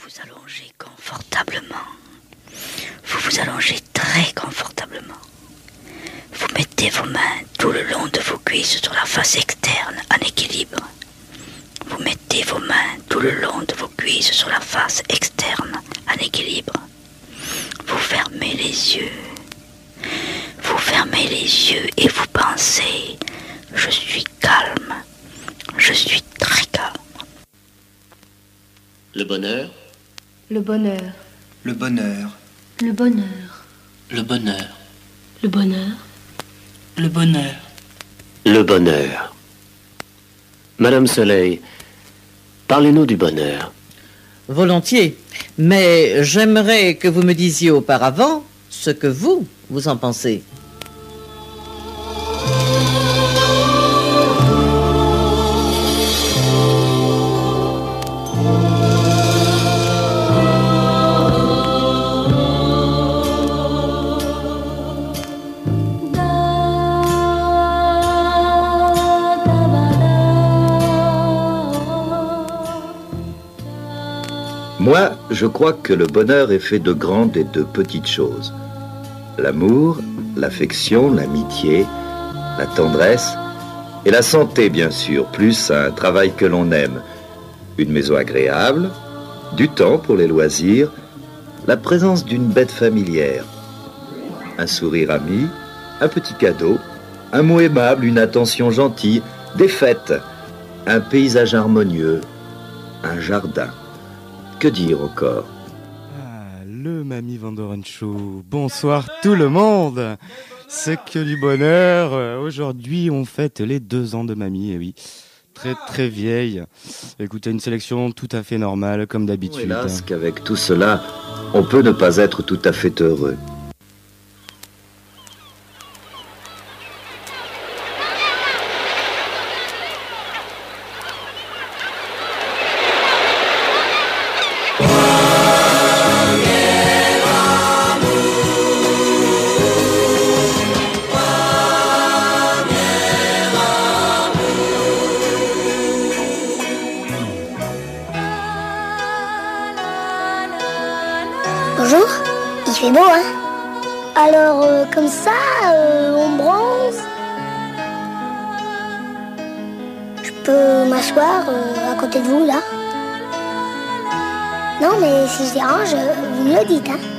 vous allongez confortablement. Vous vous allongez très confortablement. Vous mettez vos mains tout le long de vos cuisses sur la face externe en équilibre. Vous mettez vos mains tout le long de vos cuisses sur la face externe en équilibre. Vous fermez les yeux. Vous fermez les yeux et vous pensez « Je suis calme. Je suis très calme. » Le bonheur. Le bonheur. Le bonheur. Le bonheur. Le bonheur. Le bonheur. Le bonheur. Le bonheur. Madame Soleil, parlez-nous du bonheur. Volontiers, mais j'aimerais que vous me disiez auparavant ce que vous en pensez. Moi, je crois que le bonheur est fait de grandes et de petites choses. L'amour, l'affection, l'amitié, la tendresse et la santé, bien sûr, plus un travail que l'on aime, une maison agréable, du temps pour les loisirs, la présence d'une bête familière, un sourire ami, un petit cadeau, un mot aimable, une attention gentille, des fêtes, un paysage harmonieux, un jardin. Que dire encore? Le Mamie Van Doren Show. Bonsoir tout le monde. C'est que du bonheur. Aujourd'hui, on fête les 2 ans de Mamie. Et oui, très très vieille. Écoutez, une sélection tout à fait normale, comme d'habitude. Hélas, qu'avec tout cela, on peut ne pas être tout à fait heureux. Bonjour, il fait beau, hein? Alors, comme ça, on bronze. Je peux m'asseoir à côté de vous, là? Non, mais si je dérange, vous me le dites, hein?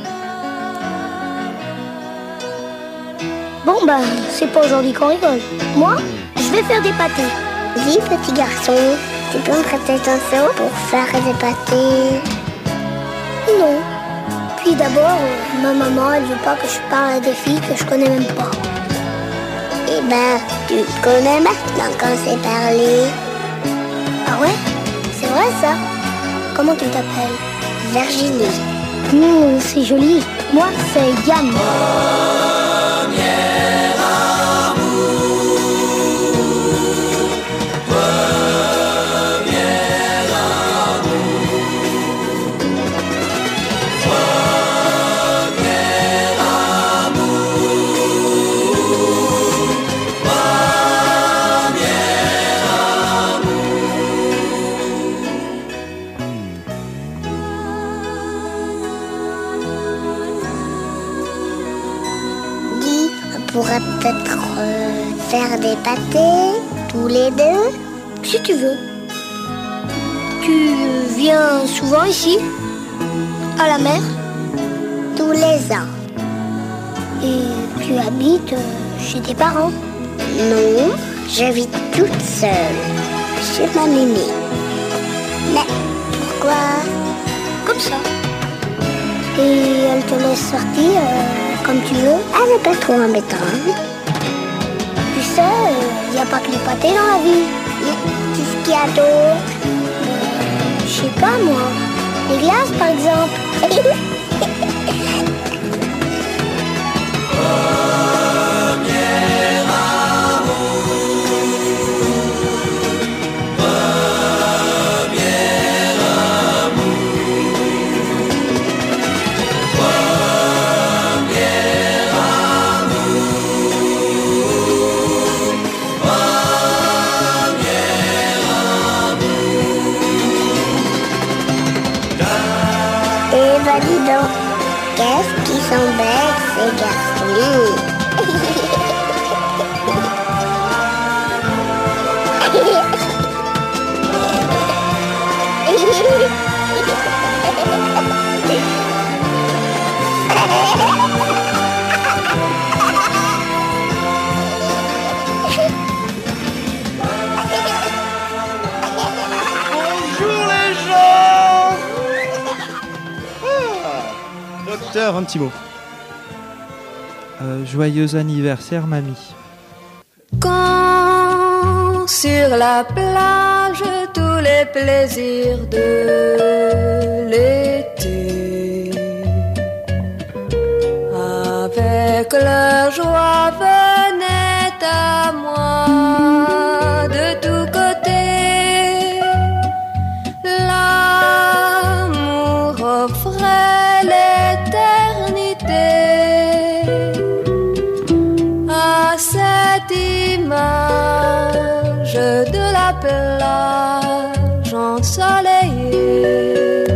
Bon, ben, c'est pas aujourd'hui qu'on rigole. Moi, je vais faire des pâtés. Dis, petit garçon, tu peux me prêter ton seau pour faire des pâtés? Non. Puis d'abord, ma maman, elle veut pas que je parle à des filles que je connais même pas. Eh ben, tu te connais maintenant qu'on s'est parlé. Ah ouais? C'est vrai ça? Comment tu t'appelles? Virginie. C'est joli. Moi, c'est Yann. On pourrait peut-être faire des pâtés, tous les deux. Si tu veux. Tu viens souvent ici? À la mer? Tous les ans. Et tu habites chez tes parents? Non, j'habite toute seule, chez ma mémé. Mais pourquoi? Comme ça. Et elle te laisse sortir comme tu veux? Elle n'est pas trop embêtante. Tu sais, il n'y a pas que les pâtés dans la vie. Qu'est-ce qu'il y a d'autre? Je sais pas moi. Les glaces par exemple. Eh ben dis donc, qu'est-ce qu'ils sont bêtes ces garçons. Docteur, un petit mot. Joyeux anniversaire, mamie. Quand sur la plage tous les plaisirs de l'été avec leur joie venaient à moi de tous côtés, l'amour offrait l'éternité à cette image de la plage ensoleillée.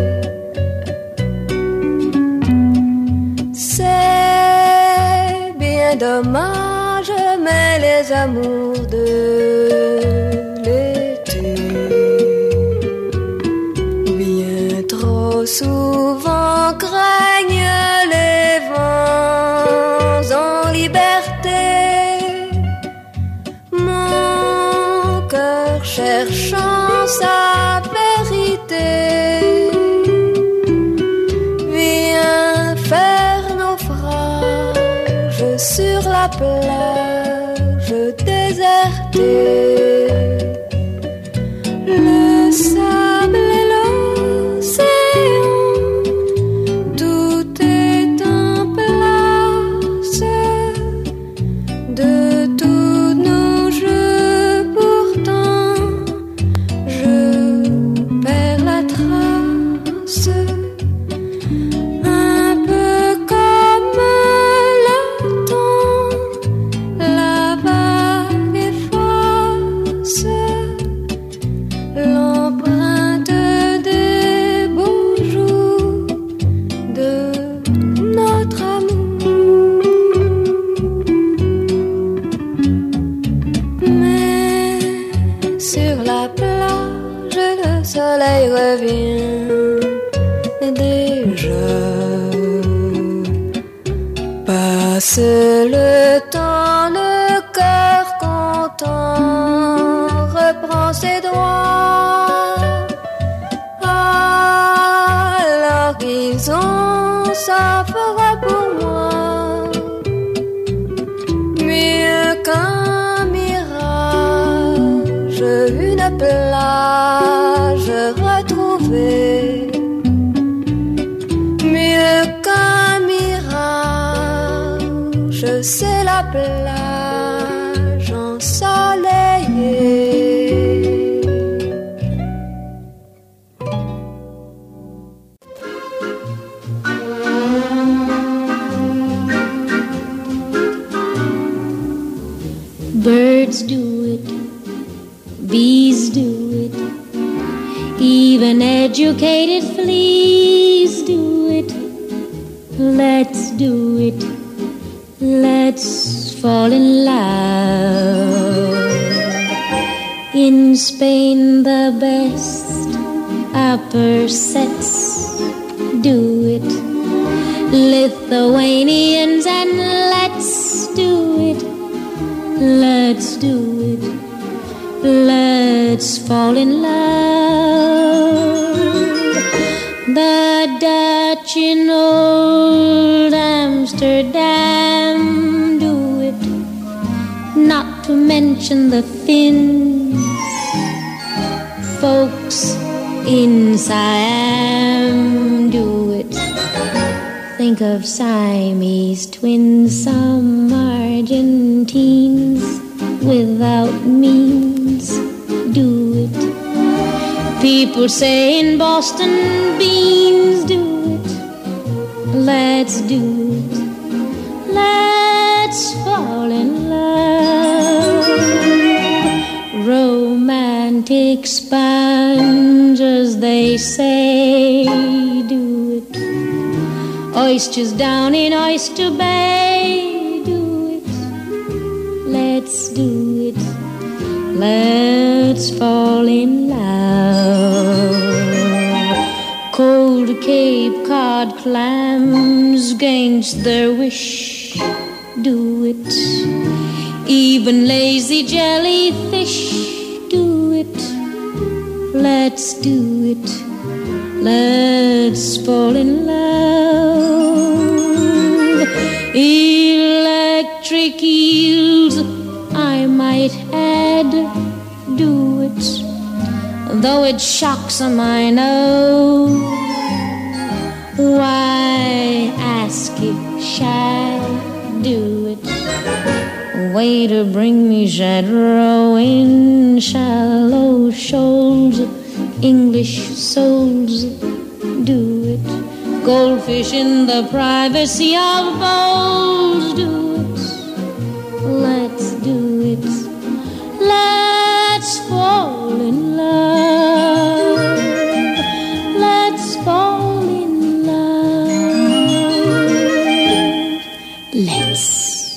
C'est bien dommage, mais les amours de l'été bien trop souvent craignent les vents en liberté. Mon cœur cherchant sa vérité vient faire naufrage sur la plage désertée. Le sable et l'océan, tout est en place. De tous nos jeux, pourtant, je perds la trace. Un peu comme le temps, la vague efface l'empreinte des beaux jours de notre amour. Mais sur la plage, le soleil revient déjà. Passe le temps, le cœur content reprend ses droits. À l'horizon, ça fera pour moi mieux qu'un mirage, une plage retrouvée. Mieux qu'un mirage, c'est la plage ensoleillée. Birds do it, bees do it, even educated fleas do it. Let's do it, let's fall in love. In Spain the best upper sets do it. Lithuanians and let's do it. Let's do it, let's fall in love. The Dutch in old Amsterdam do it, not to mention the Finns. Folks in Siam do it. Think of Siamese twins, some Argentines without means do it. People say in Boston beans do it. Let's do it, let's fall in love. Romantic sponges, they say, do it. oysters down in Oyster Bay. Do it, let's do it, let's fall in love. Cold Cape Cod clams against their wish. Do it, even lazy jellyfish. Do it, let's do it, let's fall in love. Electric eels, I might add. Do it, though it shocks 'em, I know. Why ask if shall do it? Waiter, bring me shad roe in shallow shoals. English souls, do it. Goldfish in the privacy of bowls. Do it, let's do it, let's fall in love. Let's fall in love. Let's.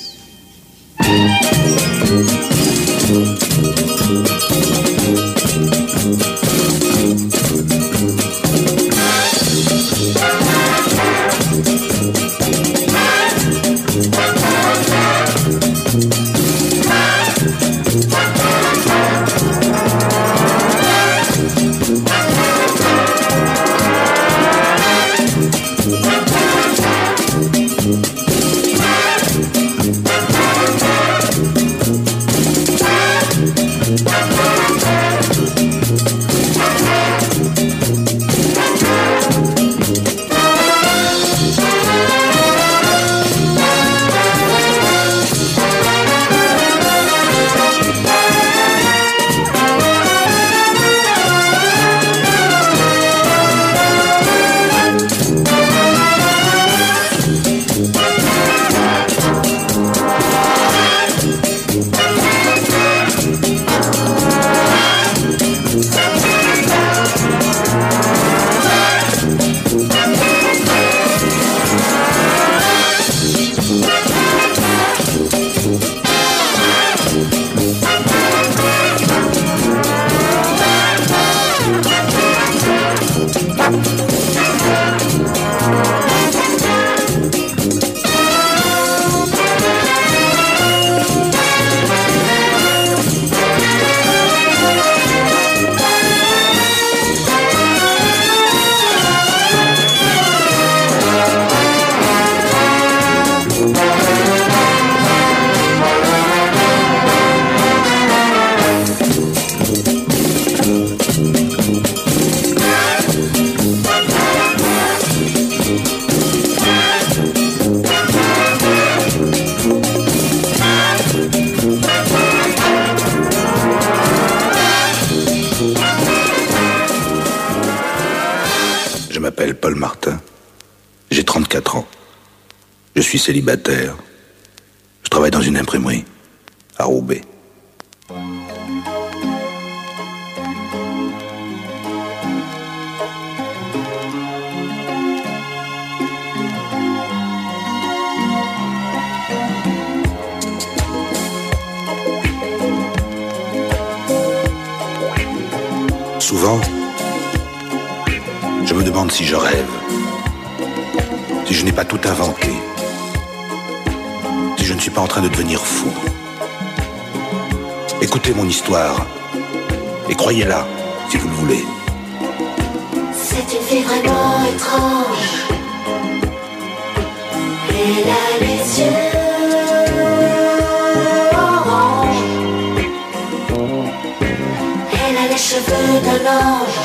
Paul Martin. J'ai 34 ans. Je suis célibataire. Je travaille dans une imprimerie à Roubaix. Souvent, je me demande si je rêve, si je n'ai pas tout inventé, si je ne suis pas en train de devenir fou. Écoutez mon histoire et croyez-la si vous le voulez. C'est une fille vraiment étrange. Elle a les yeux orange. Elle a les cheveux d'un ange.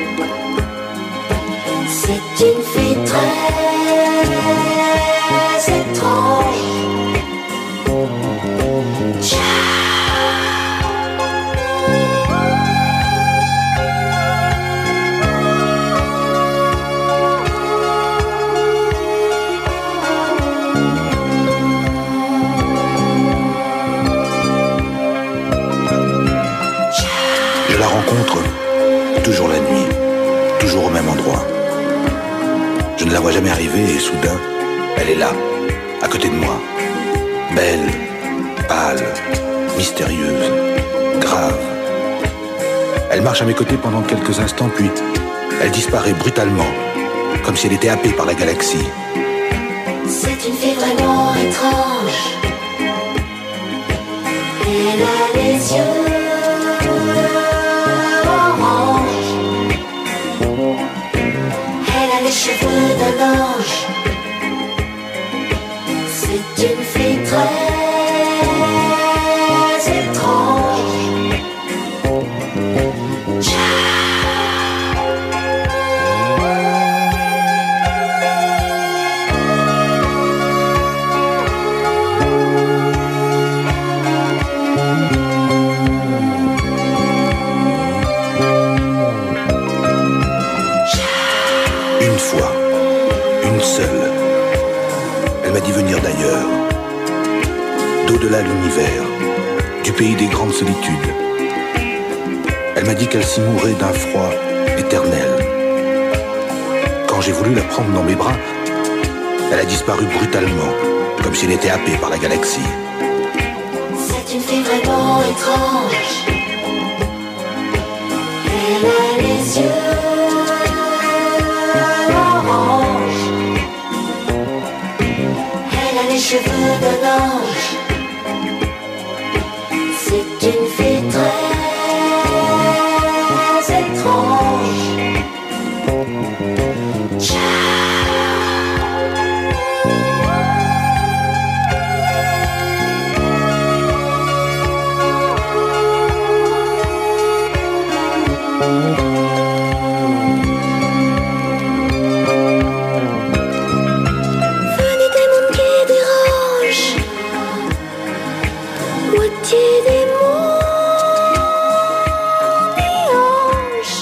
C'est une fille très étrange. Je la rencontre toujours la nuit, toujours au même endroit. Je ne la vois jamais arriver et soudain, elle est là, à côté de moi. Belle, pâle, mystérieuse, grave. Elle marche à mes côtés pendant quelques instants, puis elle disparaît brutalement, comme si elle était happée par la galaxie. C'est une fille vraiment étrange. Elle a les yeux orange. Elle a les cheveux d'un ange. C'est une fille très étrange. Une fois, une seule, elle m'a dit venir d'ailleurs, d'au-delà l'univers, du pays des grandes solitudes. Elle m'a dit qu'elle s'y mourait d'un froid éternel. Quand j'ai voulu la prendre dans mes bras, elle a disparu brutalement, comme si elle était happée par la galaxie. C'est une fille vraiment étrange. Elle a les yeux orange. Elle a les cheveux d'un ange. C'est une fille très étrange. Venez des mondes qui dérangent, moitié démon et ange,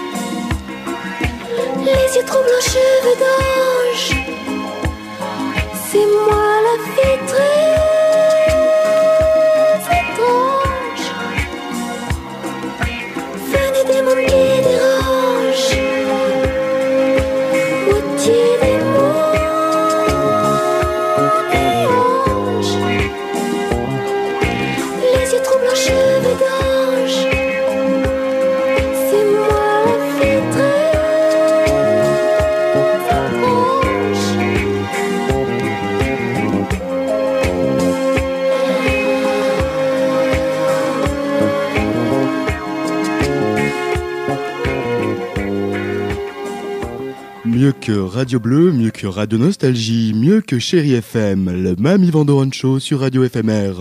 les yeux troublants, cheveux d'ange. C'est moi la fille très étrange. Venez des mondes qui dérangent, moitié démon et ange, les yeux troublants, cheveux d'ange. C'est moi la fille très étrange. Mieux que Radio Bleu, mieux que Radio Nostalgie, mieux que Chéri FM, le Mamie Vandoren Show sur Radio FMR.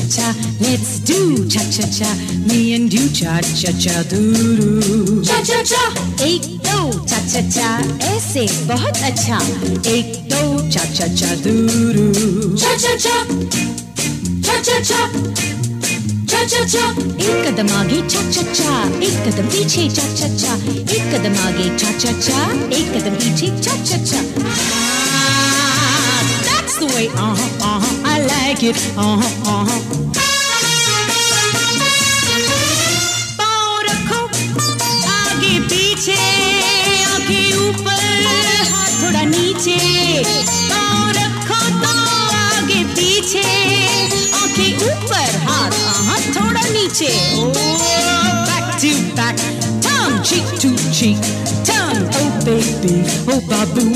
cha, let's do cha cha cha, me and you cha cha cha doo. Cha cha cha, एक दो cha cha cha, ऐसे बहुत अच्छा, एक दो cha cha cha doo. Cha cha cha, cha cha cha, cha cha cha, एक कदम आगे cha cha cha, एक कदम पीछे cha cha cha, एक कदम आगे cha cha cha, एक कदम पीछे cha cha cha. That's the way, I like it, पाँव रखो आगे पीछे, आंखें ऊपर हाथ थोड़ा नीचे, पाँव रखो तो आगे पीछे, आंखें ऊपर हाथ थोड़ा नीचे. Back to back, tongue cheek to cheek, tongue, oh baby, oh baboo.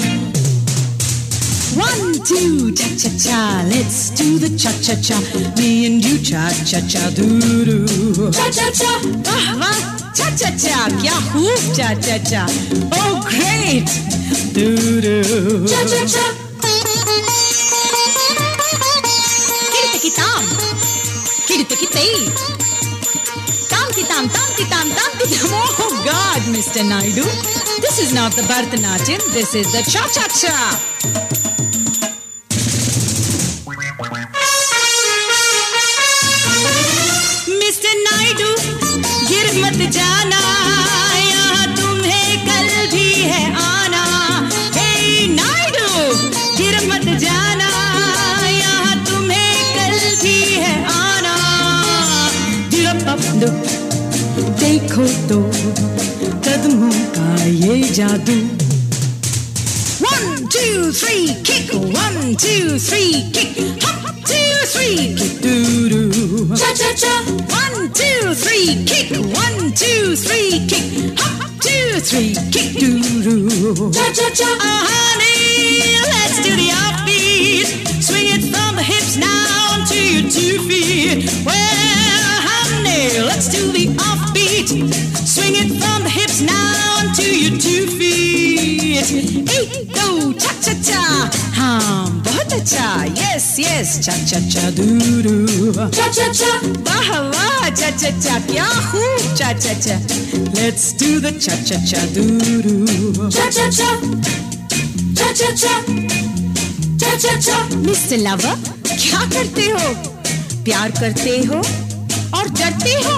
1, 2, cha cha cha, let's do the cha cha cha, me and you cha cha cha doo. Cha cha cha, wah wah, cha cha cha, kya khoob cha cha cha, oh great, doo. Cha cha cha, kirtaki tam, kirtaki tay, tam ki tam, tam ki tam, tam ki tam. Oh God, Mr. Naidu, this is not the Bharatanatyam, this is the cha cha cha. मत जाना यहाँ तुम्हें कल भी है आना. Hey नायडू, गिर मत जाना यहाँ तुम्हें कल भी है आना. देखो तो कदमों का ये जादू. 1, 2, 3, kick. 1, 2, 3, kick. Hop, 2, 3, kick. Doo-doo. Cha cha cha. 1, 2, 3, kick. 1, 2, 3, kick. Hop, 2, 3, kick. Doo-doo. Cha cha cha. Honey, let's do the offbeat. Swing it from the hips now to your 2 feet. Well, honey, let's do the offbeat. Swing it from the hips now to your 2 feet. 1, 2, cha cha cha. हाँ बहुत अच्छा. Yes yes, cha cha cha doo. Cha cha cha, वाह वाह cha cha cha, क्या खूब cha cha cha. Let's do the cha cha cha doo. Cha cha cha, cha cha cha, cha cha cha. Mr. Lover, क्या करते हो? प्यार करते हो और डरते हो?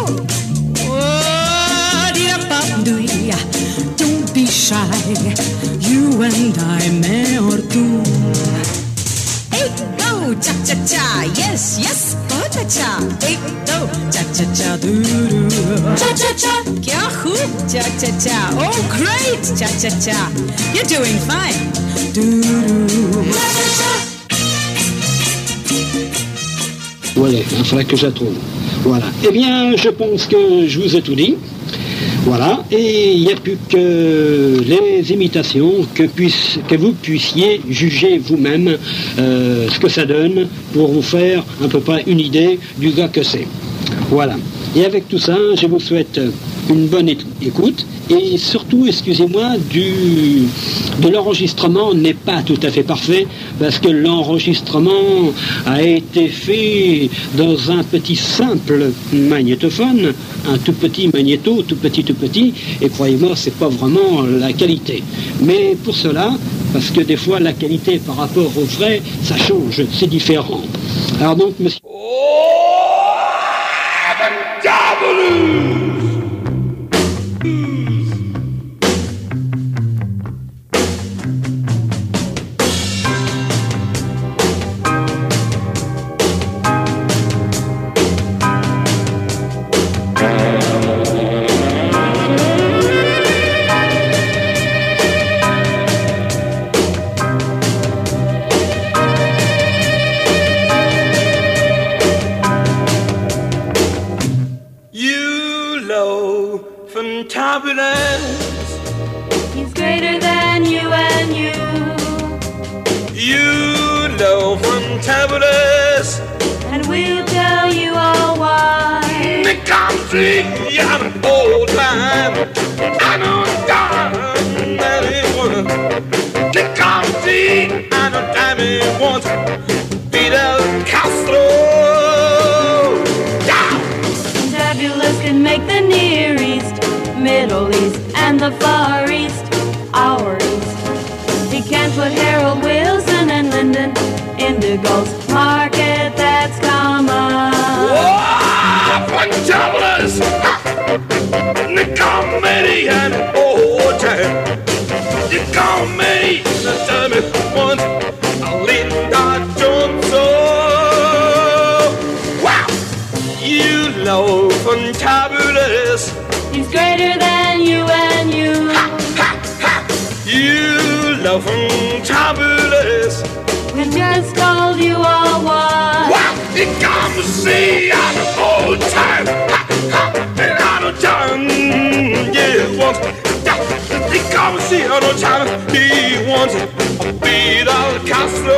Don't be shy, you and I, मैं और तू. 1, 2, cha cha cha, yes yes, बहुत अच्छा. 1, 2, cha cha cha doo. Cha cha cha, क्या खूब cha cha cha. Oh great, cha cha cha, you're doing fine. Doo. Cha cha cha. Voilà, il faudra que je la trouve. Voilà. Eh bien, je pense que je vous ai tout dit. Voilà, et il n'y a plus que les imitations que vous puissiez juger vous-même ce que ça donne pour vous faire à peu près une idée du gars que c'est. Voilà. Et avec tout ça, je vous souhaite une bonne écoute et surtout, excusez-moi, de l'enregistrement n'est pas tout à fait parfait parce que l'enregistrement a été fait dans un petit simple magnétophone, un tout petit magnéto, tout petit, et croyez-moi, c'est pas vraiment la qualité. Mais pour cela, parce que des fois la qualité par rapport au vrai, ça change, c'est différent. Alors donc, monsieur... He's greater than you and you. You know fantabulous, and we'll tell you all why. The country, I'm an old time. I know time that it was. The country, I know time it was. Fidel Castro. the Far East, our East. He can't put Harold Wilson and Lyndon Indigo's market, that's common. Whoa, fantabulous! The comedian, oh, time. The comedy, the time it once, Linda Johnson. Wow! You know, fantabulous. He's greater than you and you. Ha, ha, ha! You love fantabulous. We just called you all one. Wow! You come to see out of old time. Ha, ha! And out of time, yeah, once. You come to see out of time. He wants a Fidel Castro.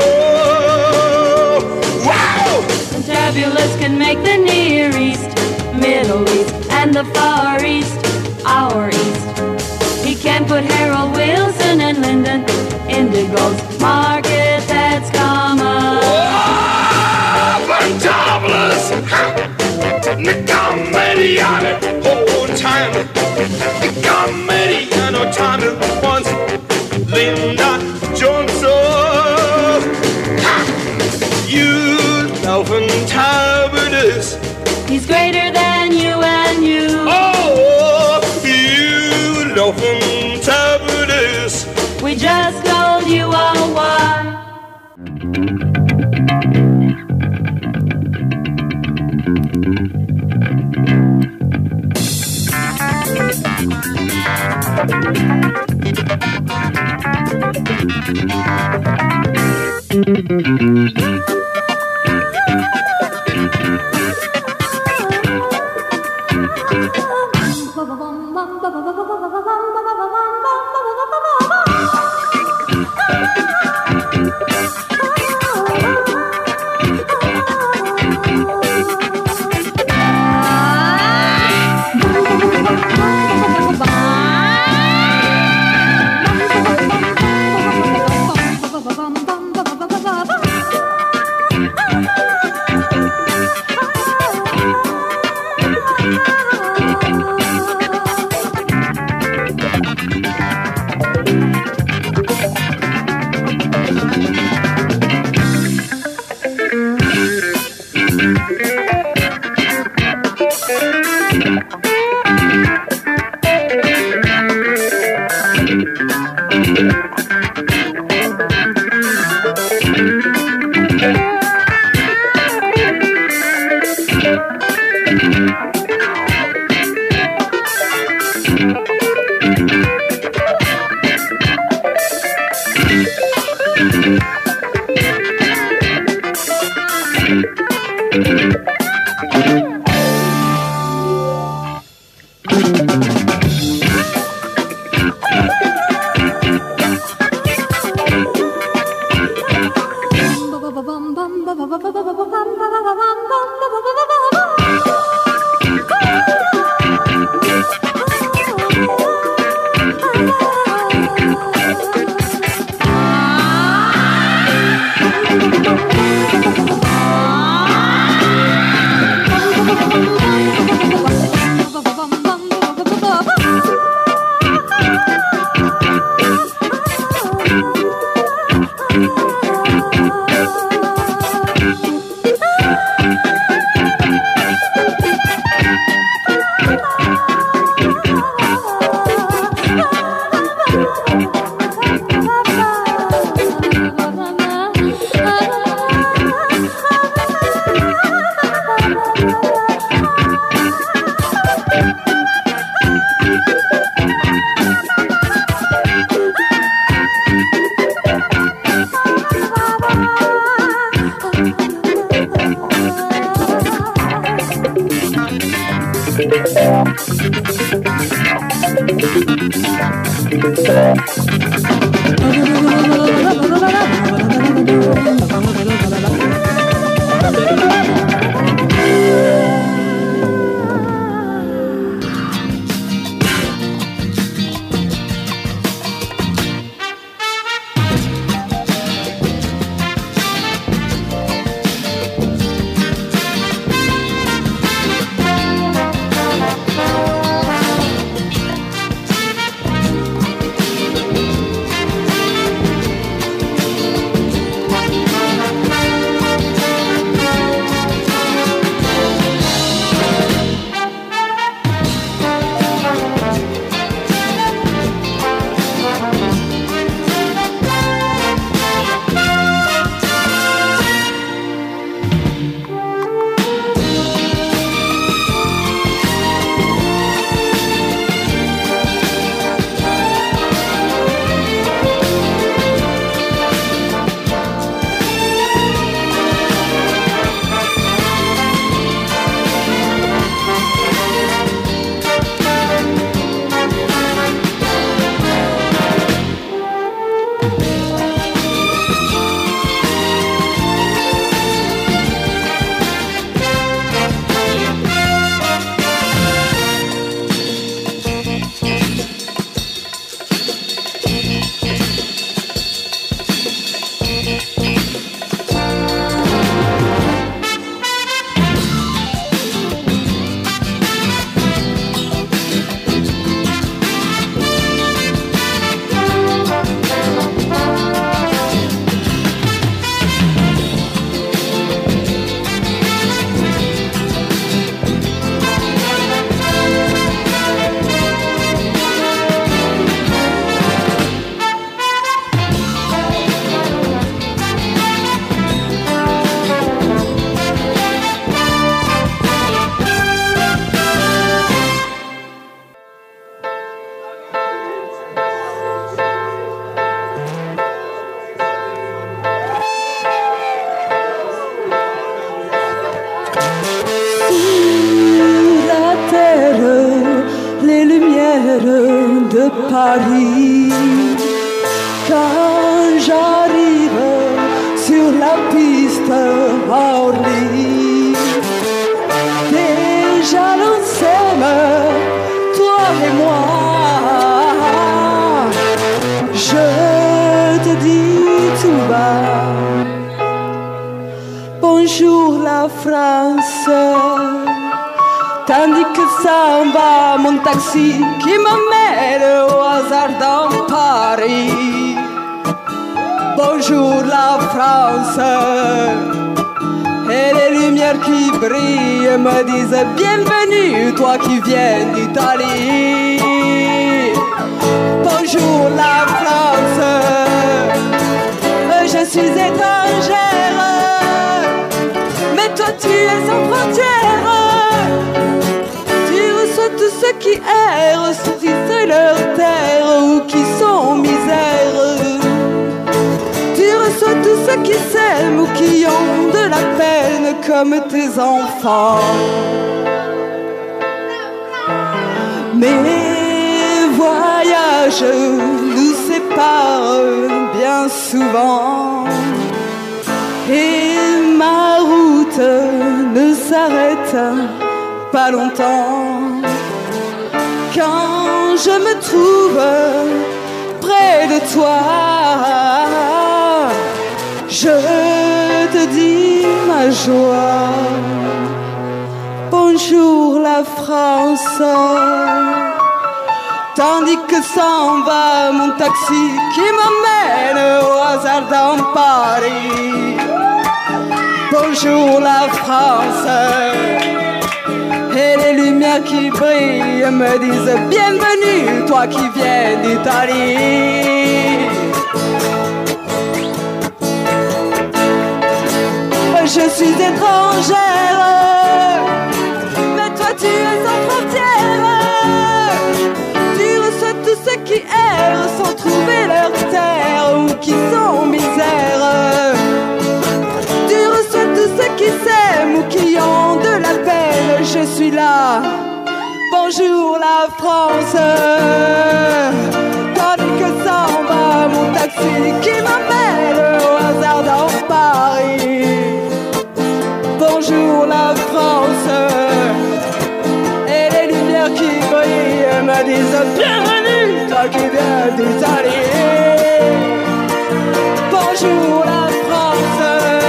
Wow! Fantabulous can make the Near East, Middle East, and the Far East, our East. He can put Harold Wilson and Lyndon Indigo's market, that's common. Oh, fantabulous! The comedian, whole time. The comedian, oh, time it once. Linda Johnson. You know fantabulous. He's greater than you and you. Oh, you know fantabulous. We just told you all why. lumière de Paris. Quand j'arrive sur la piste à Orly, déjà l'on s'aime, toi et moi. Je te dis tout bas, bonjour la France. Tandis que ça va mon taxi qui m'emmène au hasard dans Paris. Bonjour la France. Et les lumières qui brillent me disent bienvenue, toi qui viens d'Italie. Bonjour la France. Je suis étrangère, mais toi tu es sans frontières. Tu reçois tous ceux qui errent, saisissent leur terre ou qui sont en misère. Tu reçois tous ceux qui s'aiment ou qui ont de la peine comme tes enfants. Mes voyages nous séparent bien souvent et ma route ne s'arrête pas longtemps. Quand je me trouve près de toi, je te dis ma joie. Bonjour la France. Tandis que s'en va mon taxi qui m'emmène au hasard dans Paris. Bonjour la France. Et les lumières qui brillent me disent bienvenue, toi qui viens d'Italie. Je suis étrangère, mais toi tu es sans frontières. Tu reçois tous ceux qui errent sans trouver leur terre ou qui sont en misère. Tu reçois tous ceux qui s'aiment ou qui ont de la peine. Je suis là, bonjour la France. Tandis que s'en va mon taxi qui m'emmène au hasard dans Paris. Bonjour la France. Et les lumières qui brillent me disent bienvenue, toi qui viens d'Italie. Bonjour la France.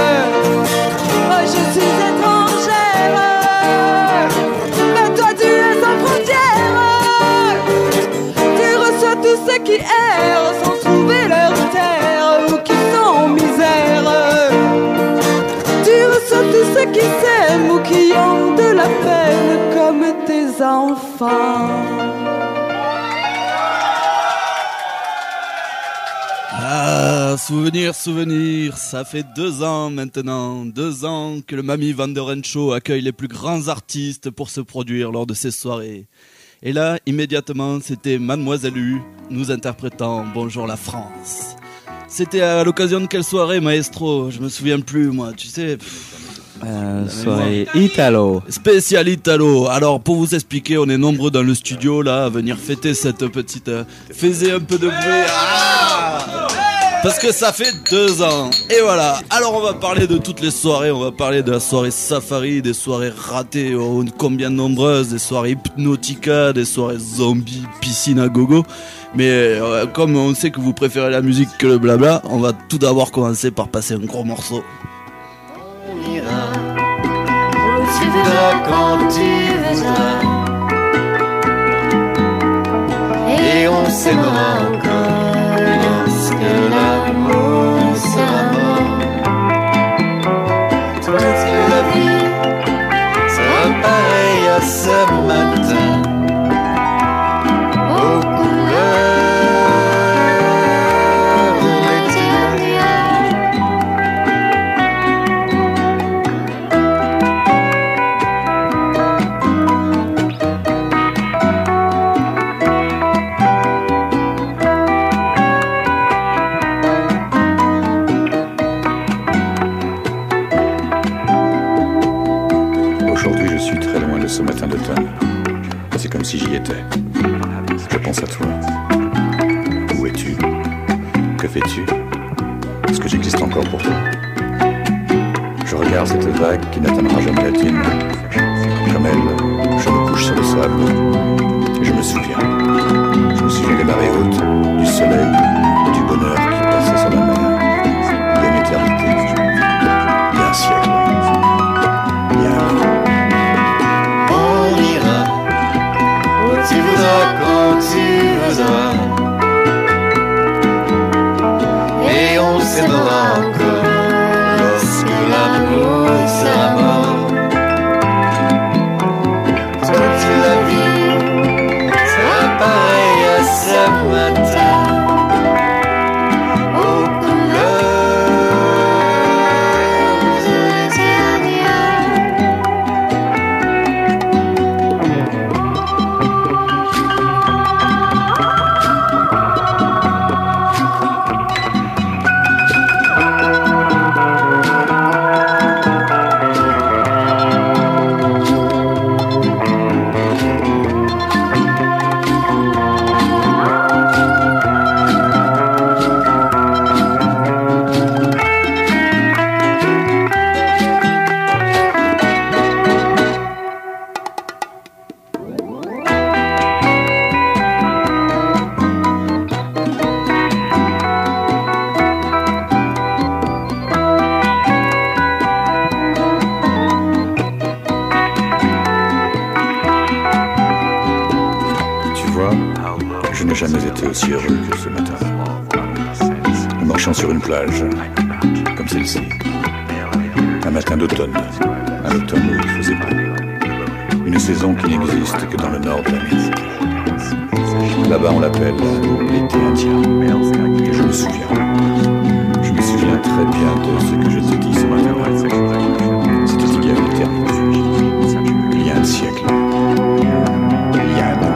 Je suis étrangère, mais toi tu es sans frontières. Tu reçois tous ceux qui errent sans trouver leur terre ou qui sont en misère. Tu reçois tous ceux qui s'aiment ou qui ont de la peine comme tes enfants. Ah, souvenir, souvenir, ça fait 2 ans maintenant, 2 ans que le Mami Van Show accueille les plus grands artistes pour se produire lors de ces soirées. Et là, immédiatement, c'était Mademoiselle U, nous interprétant Bonjour la France. C'était à l'occasion de quelle soirée, maestro? Je me souviens plus, moi, tu sais. Soirée Italo. Spécial Italo. Alors, pour vous expliquer, on est nombreux dans le studio, là, à venir fêter cette petite... Faisez un peu de bruit. Parce que ça fait 2 ans. Et voilà. Alors, on va parler de toutes les soirées. On va parler de la soirée safari, des soirées ratées, combien nombreuses, des soirées hypnotica, des soirées zombies, piscine à gogo. Mais comme on sait que vous préférez la musique que le blabla, on va tout d'abord commencer par passer un gros morceau. On ira où tu voudras, quand tu voudras, et on s'aimera encore lorsque l'amour sera mort. Toute la vie sera pareille à ce matin, aux couleurs de l'éternel. pense à toi. Où es-tu? Que fais-tu? Est-ce que j'existe encore pour toi? Je regarde cette vague qui n'atteindra jamais la tienne. Comme elle, je me couche sur le sable. Et je me souviens. Je me souviens des marées hautes, du soleil et du bonheur qui passait sur la mer. Il y a une éternité. Il y a un siècle. Il y a un an. On ira où tu voudras, quand tu voudras. Et on s'aimera encore lorsque l'amour sera mort. Toute la vie sera pareille à ce matin. Aux couleurs éternelles. Je n'ai jamais été aussi heureux que ce matin. Nous marchions sur une plage, comme celle-ci. Un matin d'automne, un automne où il faisait beau. Une saison qui n'existe que dans le nord de l'Amérique. Là-bas on l'appelle l'été indien. Et je me souviens très bien de ce que je t'ai dit ce matin-là. C'était il y a une éternité, il y a un siècle, il y a un an.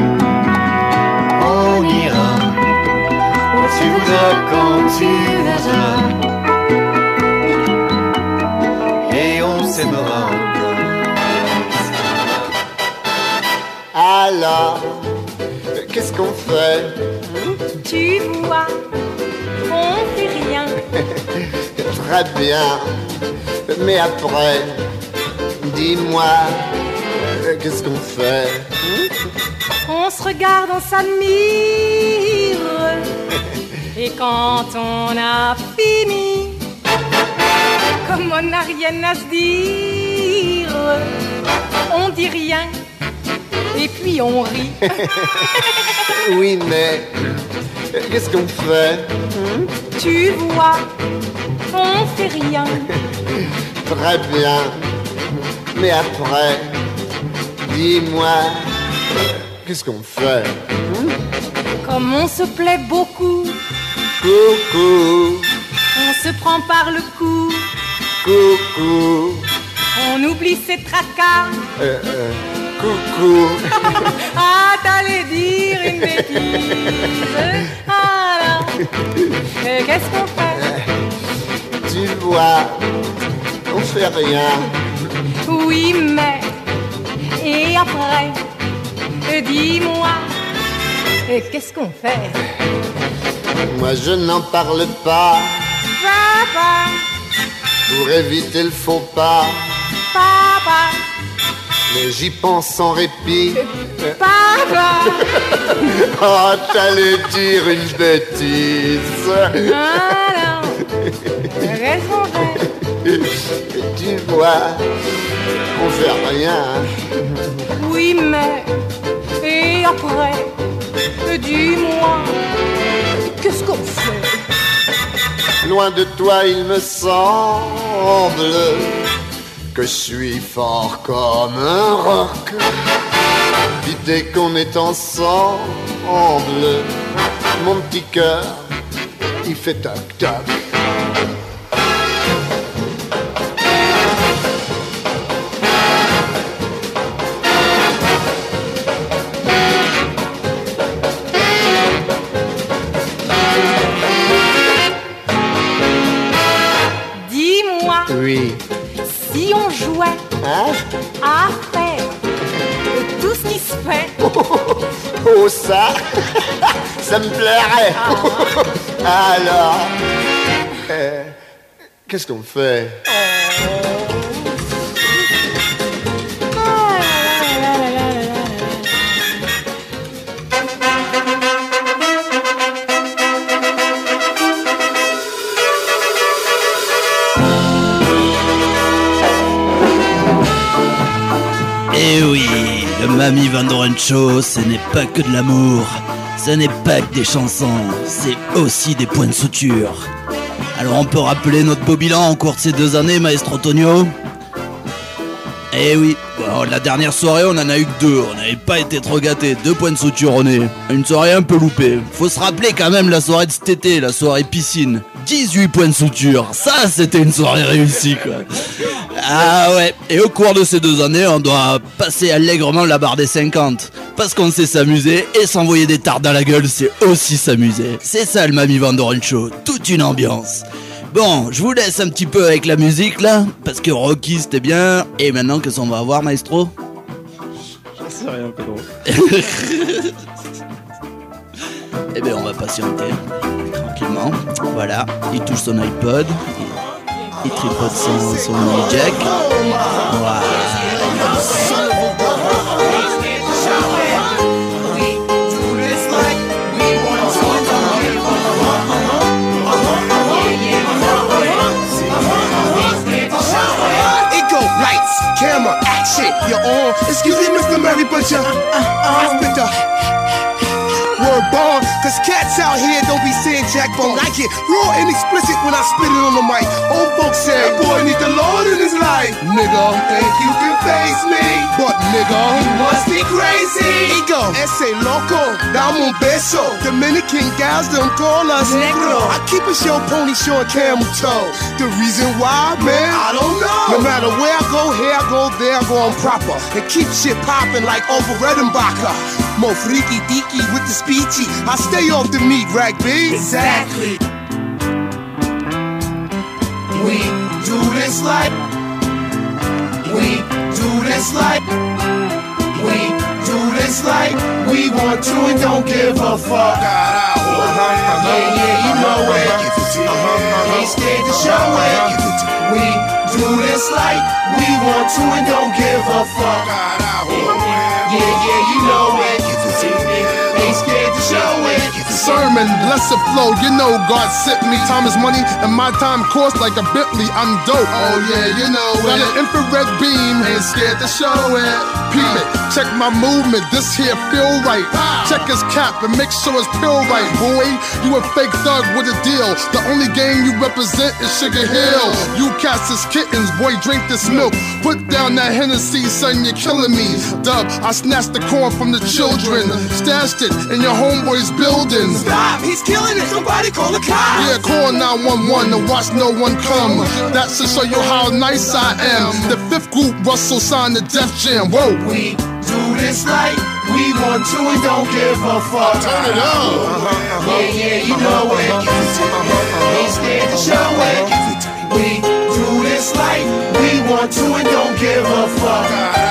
On ira où tu voudras, quand tu voudras. Et on s'aimera encore. Alors, qu'est-ce qu'on fait? Tu vois, on fait rien. Très bien, mais après, dis-moi, qu'est-ce qu'on fait? On se regarde, on s'admire. Et quand on a fini, comme on n'a rien à se dire, on dit rien. Et puis on rit. Oui, mais qu'est-ce qu'on fait? Tu vois, on fait rien. Très bien, mais après, dis-moi, qu'est-ce qu'on fait? Comme on se plaît beaucoup, coucou, on se prend par le cou, coucou, on oublie ses tracas. Coucou. Ah, t'allais dire une bêtise. Alors, qu'est-ce qu'on fait? Tu vois, on fait rien. Oui, mais, et après, dis-moi, qu'est-ce qu'on fait? Moi, je n'en parle pas. Papa. Pour éviter le faux pas. Papa. Mais j'y pense sans répit. Papa. Oh, t'allais dire une bêtise. Alors, qu'est-ce qu'on fait? Tu vois, on fait rien. Oui, mais, et après, dis-moi, qu'est-ce qu'on fait? Loin de toi, il me semble que je suis fort comme un roc. Puis dès qu'on est ensemble, mon petit cœur, il fait toc-toc. Dis-moi. Oui. Si on jouait à faire tout ce qui se fait, Oh, ça, ça me plairait. Alors, qu'est-ce qu'on fait? Eh oui, le Mamie Van Doren Show, ce n'est pas que de l'amour, ce n'est pas que des chansons, c'est aussi des points de suture. Alors on peut rappeler notre beau bilan en cours de ces 2 années, Maestro Tonio? Eh oui, bon, la dernière soirée on en a eu que 2, on n'avait pas été trop gâtés, 2 points de suture au nez, une soirée un peu loupée. Faut se rappeler quand même la soirée de cet été, la soirée piscine, 18 points de suture, ça c'était une soirée réussie quoi. Ah ouais, et au cours de ces 2 années, on doit passer allègrement la barre des 50. Parce qu'on sait s'amuser, et s'envoyer des tartes dans la gueule, c'est aussi s'amuser. C'est ça le Mamie Van Doren Show, toute une ambiance. Bon, je vous laisse un petit peu avec la musique là, parce que Rocky c'était bien. Et maintenant, qu'est-ce qu'on va avoir, maestro? J'en sais rien, Pedro. Eh bien, on va patienter, tranquillement. Voilà, il touche son iPod. Il tripote son mini-jack. Voilà. Camera, action, you're on. Excuse me, Mr. Murray, but you're with the word bomb. Cause cats out here don't be saying jack bone. I get raw and explicit when I spit it on the mic. Old folks say, that boy need the Lord in his life. Nigga, think you can face me. But nigga, you must be crazy. Ego, ese loco, dame un beso. Dominican gals don't call us negro. I keep a show pony showing camel toe. The reason why, man, I don't know. No matter where I go, here I go, there I go, I'm proper. And keep shit popping like over Redenbacher. Mo freaky deaky with the speechy. I stay off the meat, rag B. Exactly. We do this like. We do this like. We do this like. We want to and don't give a fuck. Yeah, yeah, you know it. Ain't scared to show it. We do this like. We want to and don't give a fuck. Yeah, yeah, you know it. Ain't scared to show it. Sermon, blessed flow, you know God sent me. Time is money and my time costs like a Bentley, I'm dope. Oh yeah, you know got it. An infrared beam, ain't scared to show it. Peep it, check my movement, this here feel right. Check his cap and make sure it's pill right. Boy, you a fake thug with a deal. The only game you represent is Sugar Hill. You cats is kittens, boy drink this milk. Put down that Hennessy, son, you're killing me. Dub, I snatched the corn from the children. Stashed it in your homeboy's building. Stop, he's killing it, somebody call the cops. Yeah, call 911 to watch no one come. That should show you how nice I am. The 5th group, Russell signed the Def Jam. Whoa. We do this like we want to and don't give a fuck. Turn it up. Yeah, yeah, you know it. Ain't scared to show it. We do this like we want to and don't give a fuck.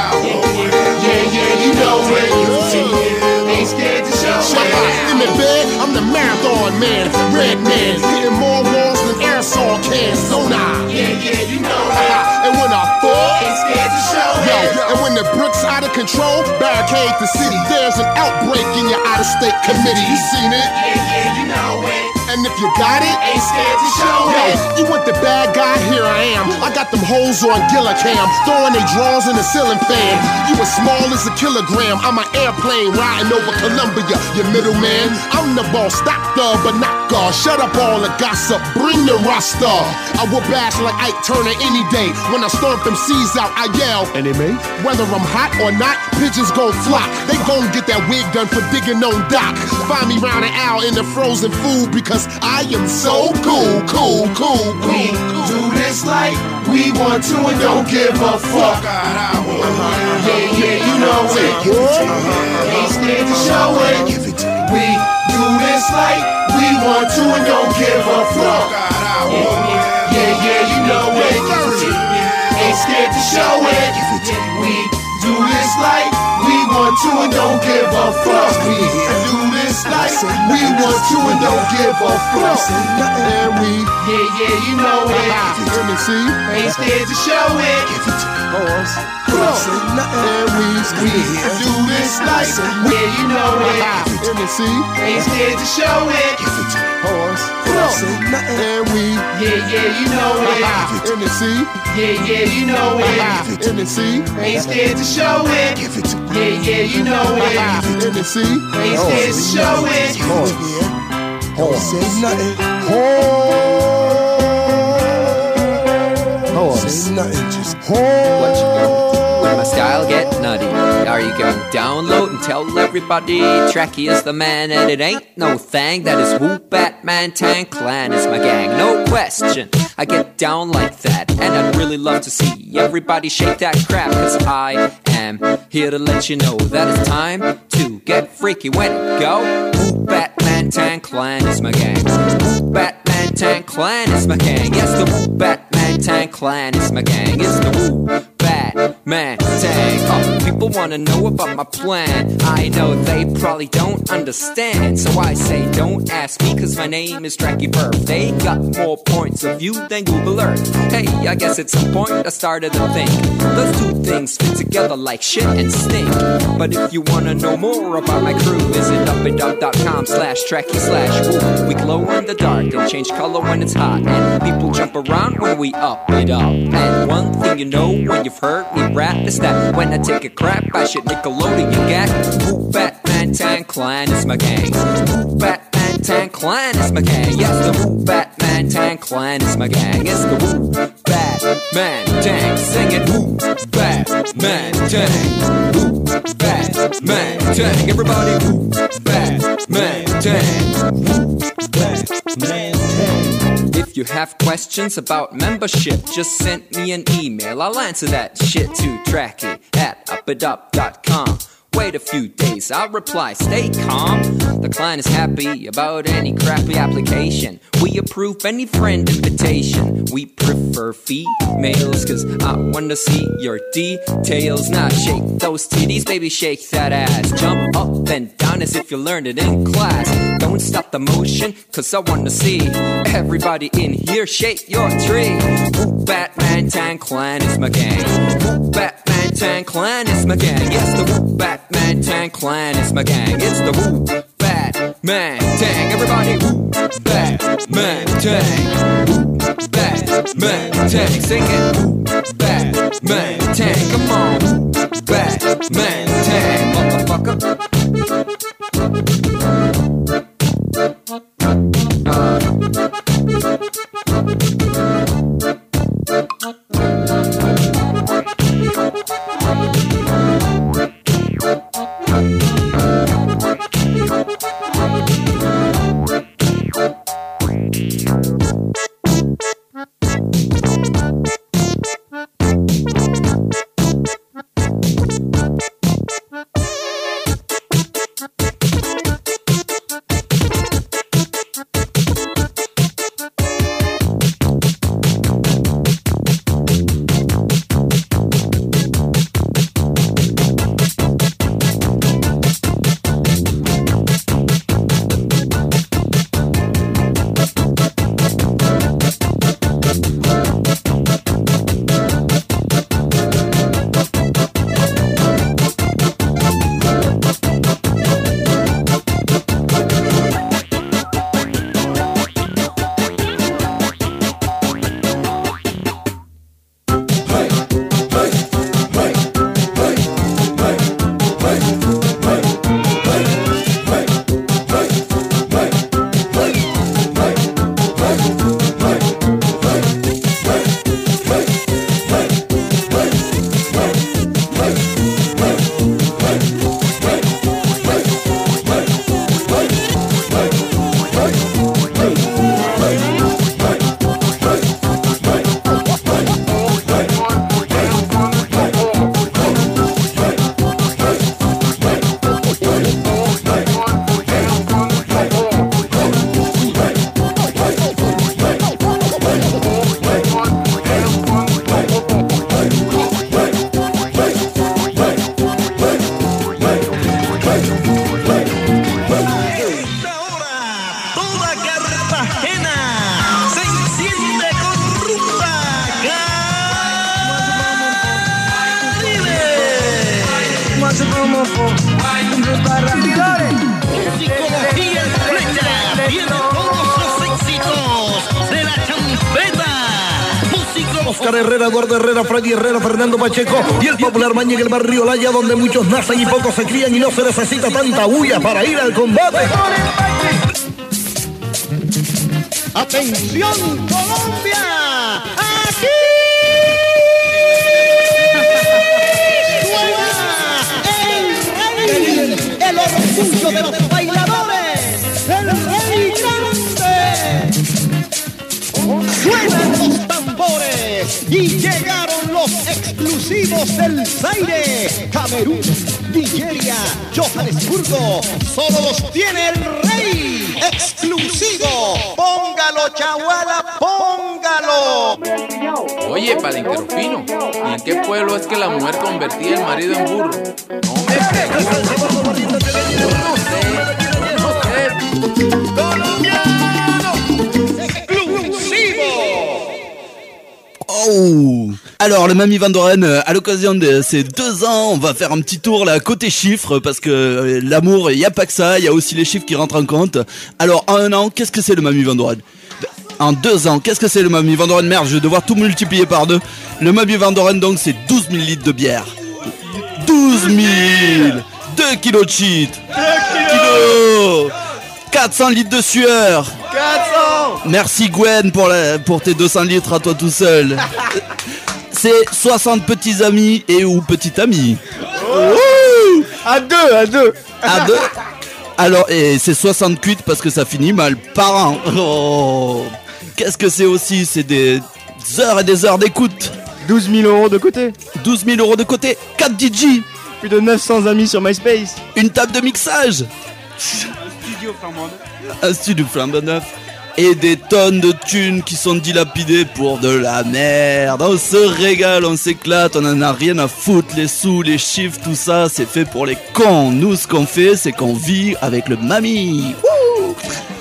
Yeah, yeah, you know it. Ain't scared to show it. In the bed, I'm the marathon man, red man, hitting more walls than aerosol cans. Sonar. Yeah, yeah, you know it. And when I fall, ain't scared to show yo, it. and when the brick's out of control, barricade the city. There's an outbreak in your out-of-state committee. You seen it? Yeah, yeah, you know it. And if you got it, ain't scared to show yo, it. You want the bad guy? Here I am. I got them hoes on Gillicam, throwing they drawers in the ceiling fan. You as small as a kilogram. I'm an airplane riding over Columbia. You middleman, I'm the boss. Stop the binocular. Shut up all the gossip. Bring the roster. I will bash like Ike Turner any day. When I stomp them C's out, I yell. Enemy? Whether I'm hot or not, pigeons gon' flock. They gon' get that wig done for digging on Doc. Find me round an hour in the frozen food because I am so cool, cool, cool, cool. We do this like we want to and don't give a fuck. Yeah, yeah, you know it. Ain't scared to show it. We do this like we want to and don't give a fuck. Yeah, yeah, you know it. Ain't scared to show it. We do this like we want want to and don't give a fuck. We do this like we want to and don't give a fuck. And we, yeah, you know it. Let me see. Ain't scared to show it. And we do this like, yeah, you know it. Let me see. Ain't scared to show it. And we, yeah, you know it. Let me see. Yeah, you know it. Let me see. Ain't scared to show it. Yeah, you know it. Let me see. Ain't scared to show it. Don't say nothing. Say nothing. Just what you going? Will my style get nutty? Are you going to download and tell everybody Tracky is the man and it ain't no thing? That is Woo Batman Tan Clan is my gang, no question. I get down like that and I'd really love to see everybody shake that crap, cause I am here to let you know that it's time to get freaky. When it go, Woo Batman Tan Clan is my gang. Woo Batman Tan Clan is my gang. Yes, the Woo Batman Tan Clan is my gang. It's the Woo Batman Tan. Oh, people wanna know about my plan. I know they probably don't understand, so I say don't ask me, cause my name is Tracky Burf. They got more points of view than Google Earth. Hey, I guess at some point I started to think those two things fit together like shit and stink. But if you wanna know more about my crew, visit uppitup.com/Tracky/woo. We glow in the dark and change color when it's hot, and people jump around when we up it up. And one thing you know when you've heard me rap is that when I take a crap, I should Nickelodeon you get. Woo Batman Tan Clan is my gang. Woo Batman Tan Clan is my gang. Yes, the Woo Batman Tan Clan is my gang. It's the Woo Batman Tan. Sing it, Woo Batman Tan. Woo Batman Tan. Everybody, Woo Batman Tan. Woo Batman Tan. If you have questions about membership, just send me an email. I'll answer that shit to Tracky@uppitup.com. Wait a few days, I'll reply, stay calm. The client is happy about any crappy application. We approve any friend invitation. We prefer females, cause I wanna see your details. Now shake those titties, baby, shake that ass. Jump up and down as if you learned it in class. Don't stop the motion, cause I wanna see everybody in here shake your tree. Woo Batman Tan Clan is my gang. Woo Batman Tan Clan is my gang. Yes, the Woo Batman Tan Clan is my gang. It's the Woo Batman Tan. Everybody, Woo Batman Tan. Woo Batman Tan. Sing it, Woo Batman Tan. Come on, Woo Batman Tan, motherfucker. homófobo. Psicología Estrella tiene todos los éxitos de la champeta. Oscar Herrera, Eduardo Herrera, Freddy Herrera, Fernando Pacheco y el popular Mañe en el barrio Laya, donde muchos nacen y pocos se crían y no se necesita tanta bulla para ir al combate. ¡Atención, Colombia! ¡Aquí! ¡Suena el rey! ¡El orgullo de los bailadores! ¡El rey grande! ¡Suenan los tambores! Y llegaron los exclusivos del Zaire. Camerún, Nigeria, Johannesburgo. Solo los tiene el rey. ¡Exclusivo! ¡Póngalo, chaguala, póngalo! Oye, Palenquerofino, ¿y en qué pueblo es que la mujer convertía el marido en burro? No me preguntes. No sé. ¡Colombiano! ¡Exclusivo! Oh. Alors le Mamie Van Doren, à l'occasion de ces 2 ans, on va faire un petit tour là côté chiffres parce que l'amour, il y a pas que ça, il y a aussi les chiffres qui rentrent en compte. Alors en 1 an, qu'est-ce que c'est le Mamie Van Doren? En 2 ans, qu'est-ce que c'est le Mamie Van Doren? Merde, je vais devoir tout multiplier par 2. Le Mamie Van Doren donc c'est 12 000 litres de bière. 12 000 2 kilos de shit. 2 kilos 400 litres de sueur. 400. Merci Gwen pour tes 200 litres à toi tout seul. C'est 60 petits amis et ou petites amies. Oh. À deux. Alors, et c'est 60 cuites parce que ça finit mal par an. Oh. Qu'est-ce que c'est aussi? C'est des heures et des heures d'écoute. 12 000 euros de côté. 12 000 euros de côté. 4 DJ. Plus de 900 amis sur MySpace. Une table de mixage. Un studio flambant neuf. Et des tonnes de thunes qui sont dilapidées pour de la merde. On se régale, on s'éclate, on en a rien à foutre. Les sous, les chiffres, tout ça, c'est fait pour les cons. Nous, ce qu'on fait, c'est qu'on vit avec le Mamie. Wouh.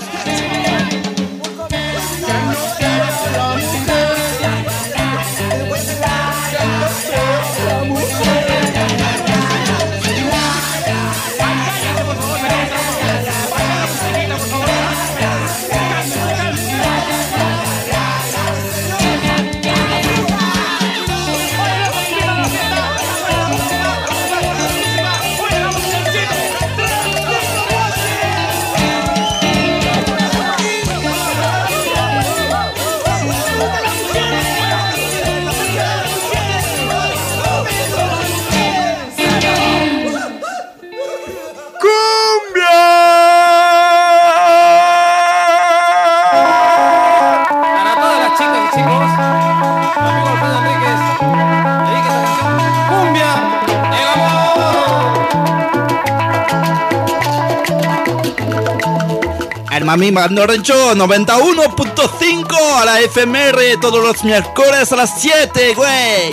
Mamie Van Doren Show 91.5 a la FMR todos los miércoles a las 7, güey.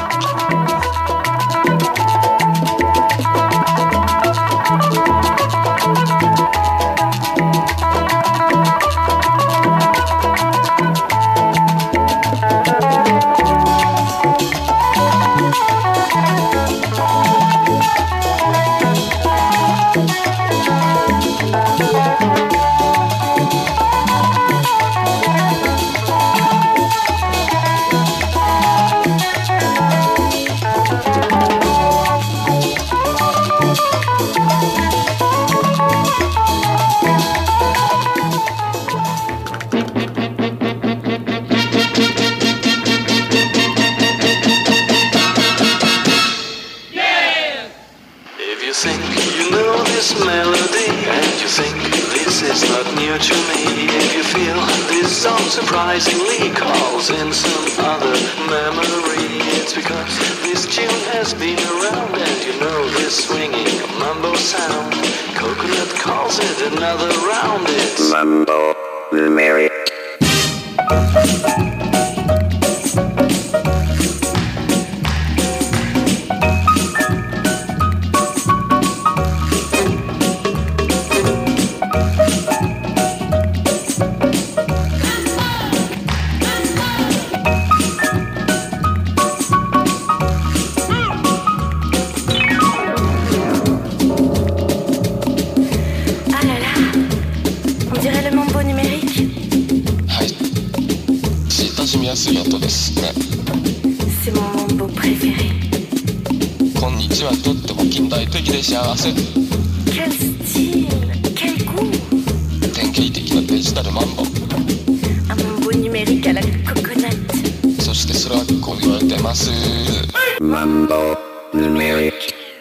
Surprisingly calls in some other memory. It's because this tune has been around, and you know this swinging mambo sound. Coconut calls it another round. It's Mambo Mary. dirait le mambo numérique? 親しみやすい音ですね。 C'est mon mambo préféré. こんにちはとっても近代的で幸せ。 Quel style, quel goût. 典型的なデジタルマンボ。 Un mambo numérique à la coconut. そしてそれはこう言われてます。マンボヌメリック。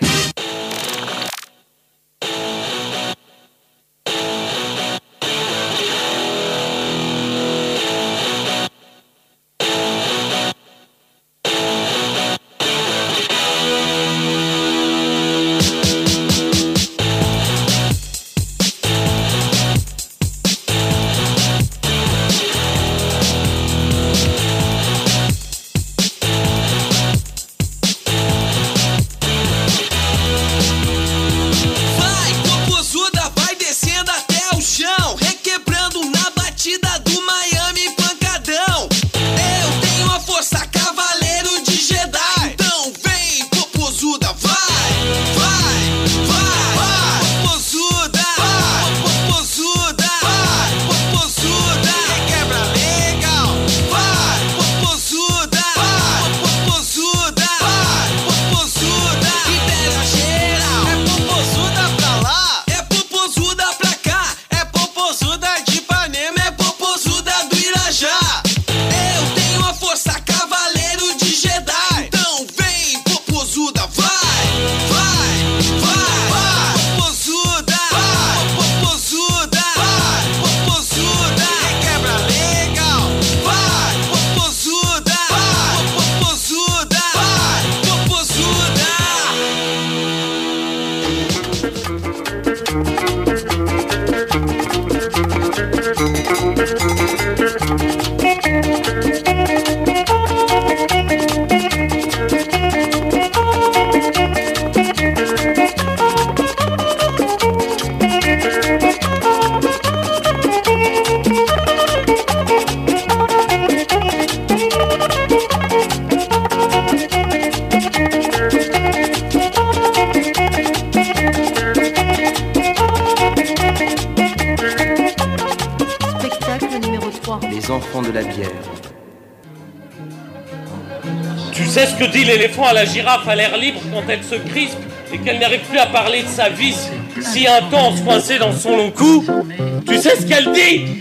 Tu sais ce que dit l'éléphant à la girafe à l'air libre quand elle se crispe et qu'elle n'arrive plus à parler de sa vie si intense coincée dans son long cou? Tu sais ce qu'elle dit?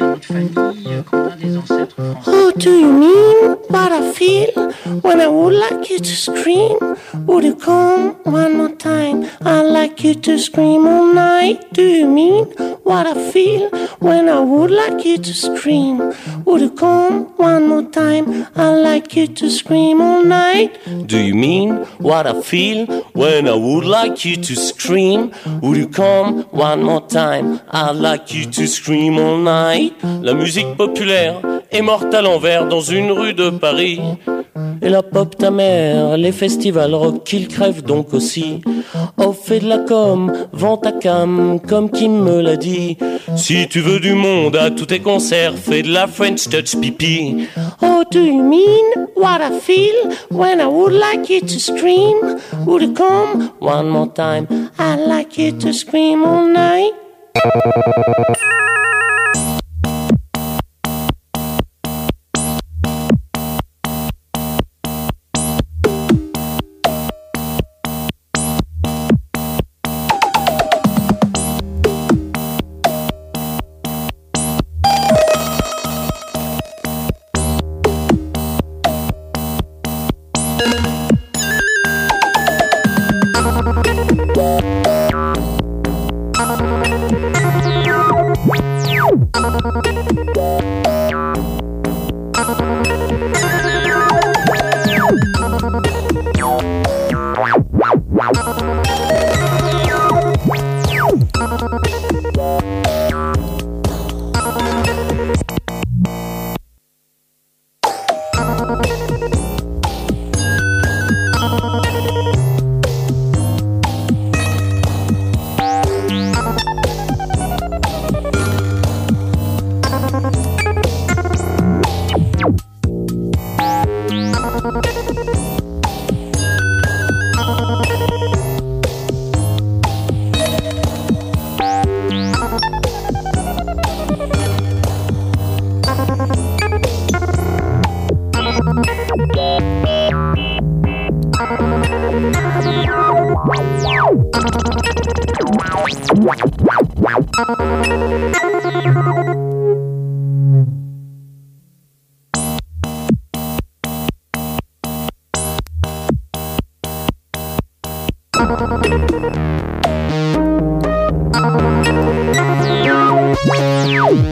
Oh, do you mean what I feel when I would like you to scream? Would you come one more time? I'd like you to scream all night. Do you mean what I feel when I would like you to scream? Would you come one more time? I'd like you to scream all night. Do you mean what I feel when I would like you to scream? Would you come one more time? I'd like you to scream all night. La musique populaire est morte à l'envers dans une rue de Paris. Et la pop ta mère, les festivals rock, qu'ils crèvent donc aussi. Oh, fais de la com, vends ta cam, comme Kim me l'a dit. Si tu veux du monde à tous tes concerts, fais de la French touch pipi. Oh, do you mean what I feel when I would like you to scream? Would you come one more time? I'd like you to scream all night.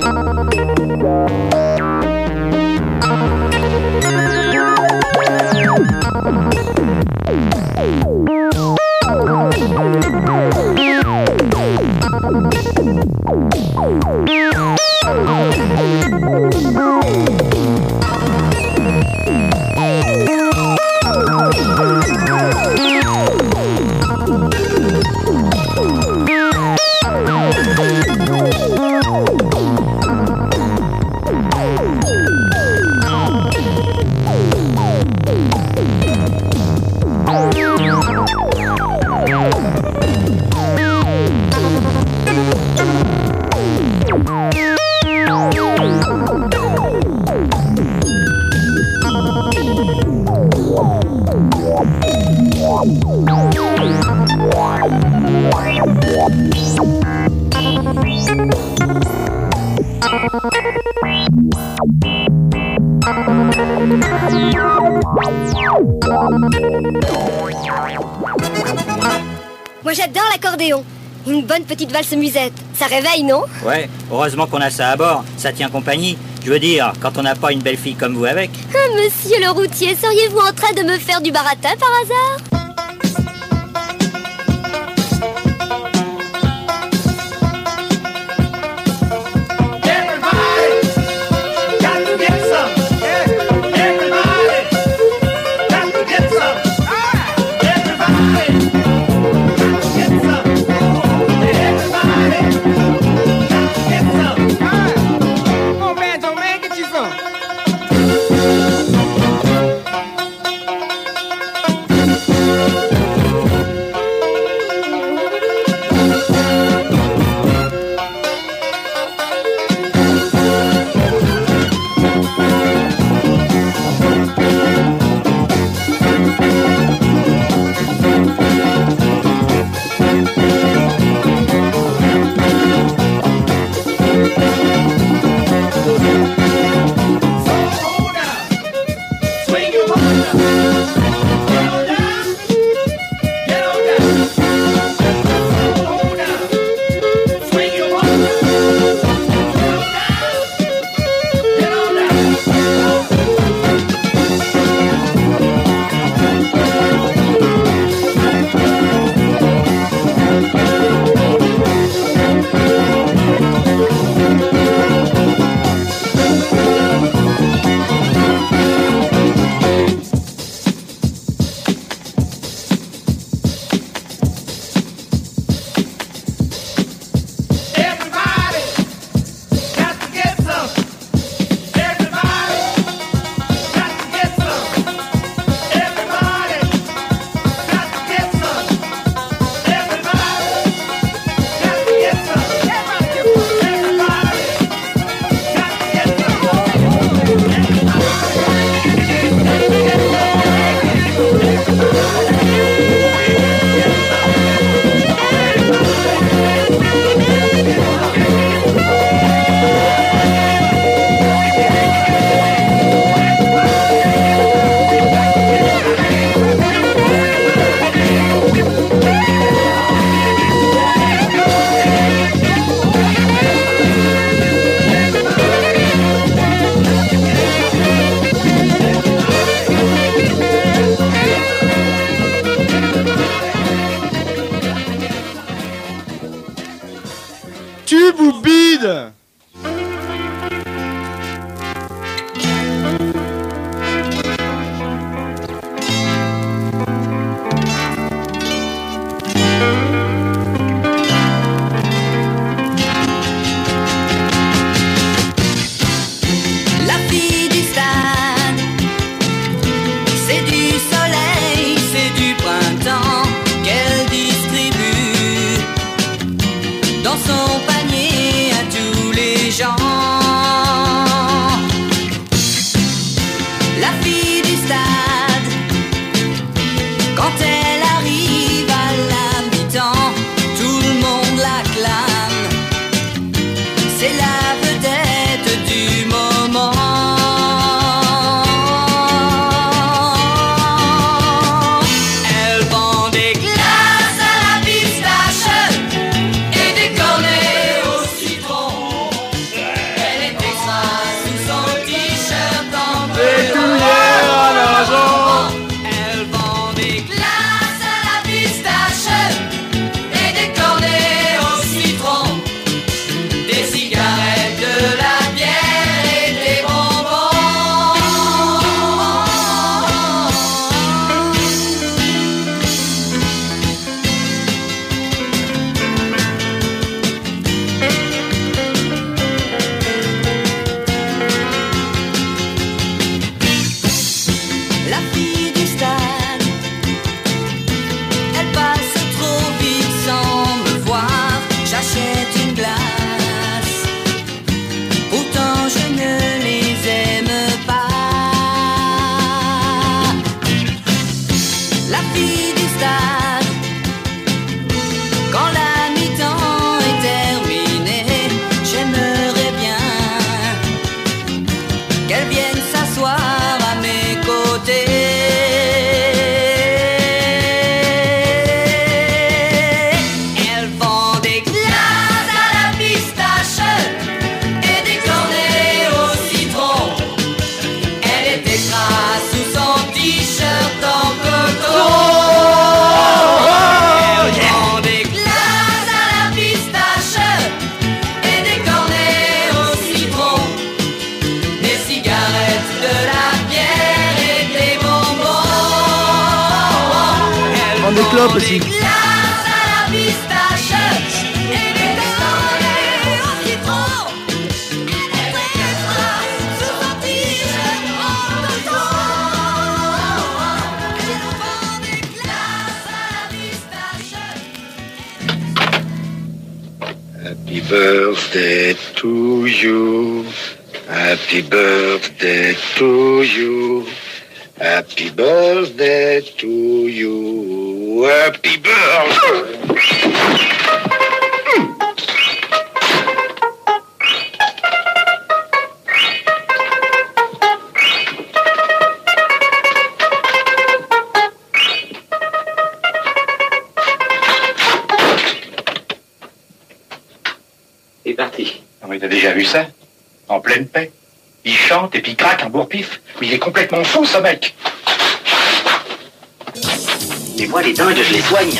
Moi j'adore l'accordéon. Une bonne petite valse musette. Ça réveille, non? Ouais, heureusement qu'on a ça à bord. Ça tient compagnie. Je veux dire, quand on n'a pas une belle fille comme vous avec. Ah, monsieur le routier, seriez-vous en train de me faire du baratin par hasard? Tube ou bide? La fille du stade, c'est du soleil, c'est du printemps qu'elle distribue dans son panier à tous Hop aussi. Happy birthday to you. Happy birthday to you. Happy birthday to you. Happy birthday. C'est parti. Non mais t'as déjà vu ça? En pleine paix. Il chante et puis il craque un bourre-pif. Mais il est complètement fou ce mec. Et moi les dingues je les soigne.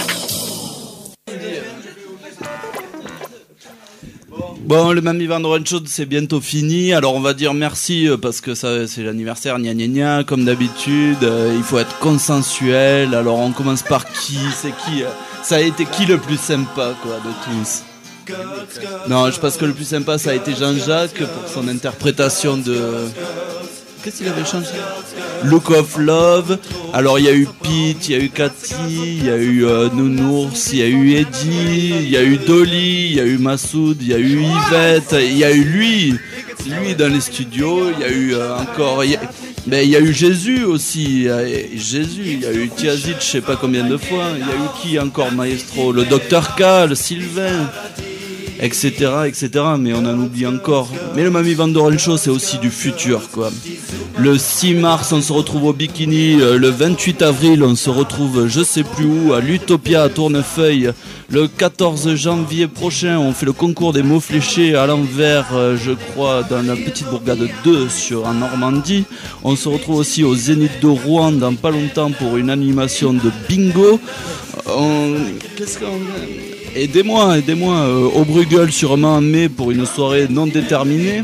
Bon, le Mamie Van Doren Show, c'est bientôt fini. Alors, on va dire merci parce que ça, c'est l'anniversaire, gna gna gna. Comme d'habitude, il faut être consensuel. Alors, on commence par qui? C'est qui? Ça a été qui le plus sympa, quoi, de tous? Non, je pense que le plus sympa, ça a été Jean-Jacques pour son interprétation de... Qu'est-ce qu'il avait chanté? Look of Love. Alors il y a eu Pete, il y a eu Cathy, il y a eu Nounours, il y a eu Eddie, il y a eu Dolly, il y a eu Massoud, il y a eu Yvette, il y a eu lui dans les studios, il y a eu encore... Mais il y a eu Jésus aussi, il y a eu Tiazit, je sais pas combien de fois, il y a eu qui encore, maestro? Le Dr K, le Sylvain, etc., mais on en oublie encore. Mais le Mamie Van Doren Show, c'est aussi du futur, quoi. Le 6 mars, on se retrouve au Bikini. Le 28 avril, on se retrouve je sais plus où, à l'Utopia à Tournefeuille. Le 14 janvier prochain, on fait le concours des mots fléchés à l'envers, je crois, dans la petite bourgade 2 en Normandie. On se retrouve aussi au Zénith de Rouen dans pas longtemps pour une animation de bingo. Qu'est-ce qu'on... Aidez-moi, au Bruegel sûrement en mai pour une soirée non déterminée.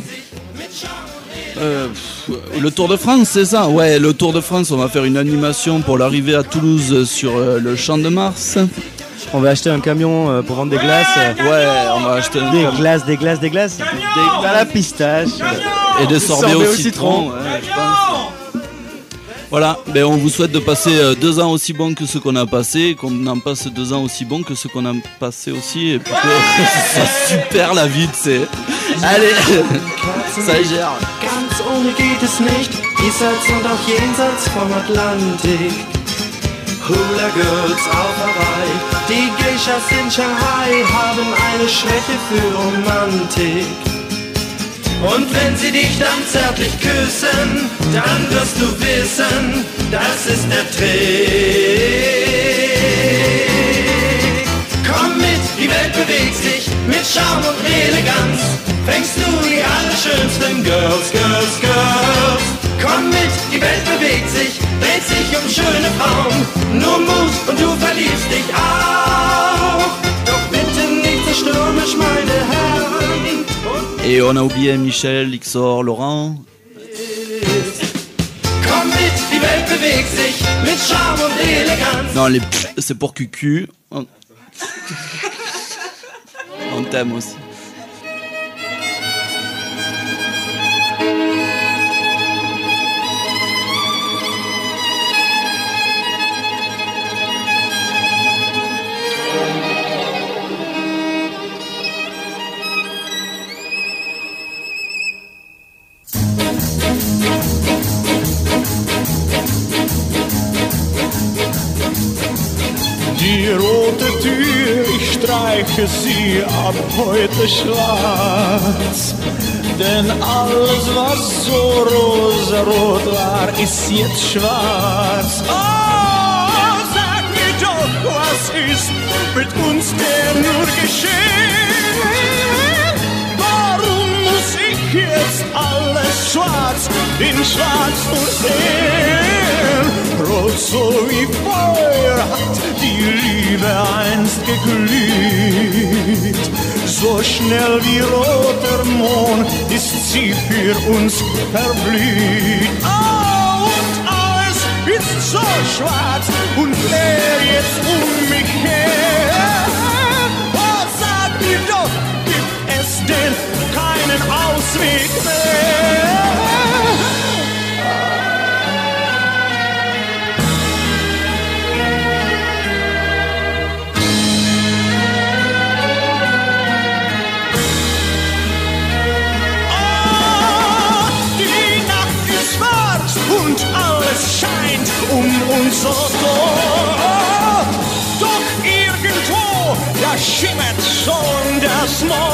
Le Tour de France, c'est ça? Ouais, le Tour de France, on va faire une animation pour l'arrivée à Toulouse sur le Champ de Mars. On va acheter un camion pour vendre des glaces. Ouais, on va acheter des glaces à la pistache. Et des sorbets au citron. Ouais, je pense. Voilà, ben on vous souhaite de passer 2 ans aussi bons que ceux qu'on a passés, qu'on en passe 2 ans aussi bons que ceux qu'on a passés aussi, et puis que c'est super la vie, tu sais. Allez, ça gère. Ganz ohne geht es nicht, diesseits und auch jenseits vom Atlantik. Hula Girls auf Hawaii, die Geishas in Shanghai haben eine Schwäche für Romantik. Und wenn sie dich dann zärtlich küssen, dann wirst du wissen, das ist der Trick. Komm mit, die Welt bewegt sich, mit Charme und Eleganz fängst du die allerschönsten Girls. Komm mit, die Welt bewegt sich, dreht sich um schöne Frauen. Nur Mut und du verliebst dich auch. Doch bitte nicht so stürmisch, meine Herren. Et on a oublié Michel, Xor, Laurent. Komm mit, die Welt bewegt sich, mit Charme und Eleganz. Non, c'est pour Cucu. On t'aime aussi. Die rote Tür, ich streiche sie ab heute schwarz. Denn alles, was so rosarot war, ist jetzt schwarz. Oh, sag mir doch, was ist mit uns denn nur geschehen? Warum muss ich jetzt alles schwarz in schwarz nur sehen? Rot so wie Feuer hat die Liebe einst geglüht. So schnell wie roter Mond ist sie für uns verblüht. Oh, und alles ist so schwarz und leer jetzt mich her. Oh, sag mir doch, gibt es denn keinen Ausweg mehr? Und alles scheint uns so doof. Doch irgendwo, da schimmert schon das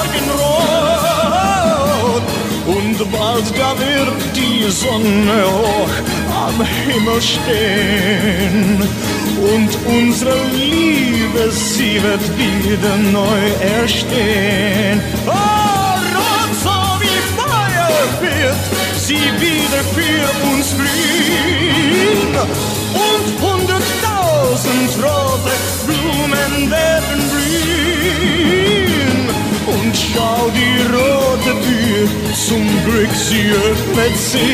Morgenrot. Und bald, da wird die Sonne hoch am Himmel stehen. Und unsere Liebe, sie wird wieder neu erstehen. Oh, rot so wie Feuer wird sie wieder für uns blühen und 100.000 rote Blumen werden blühen. Und schau, die rote Tür, zum Glück, sie öffnet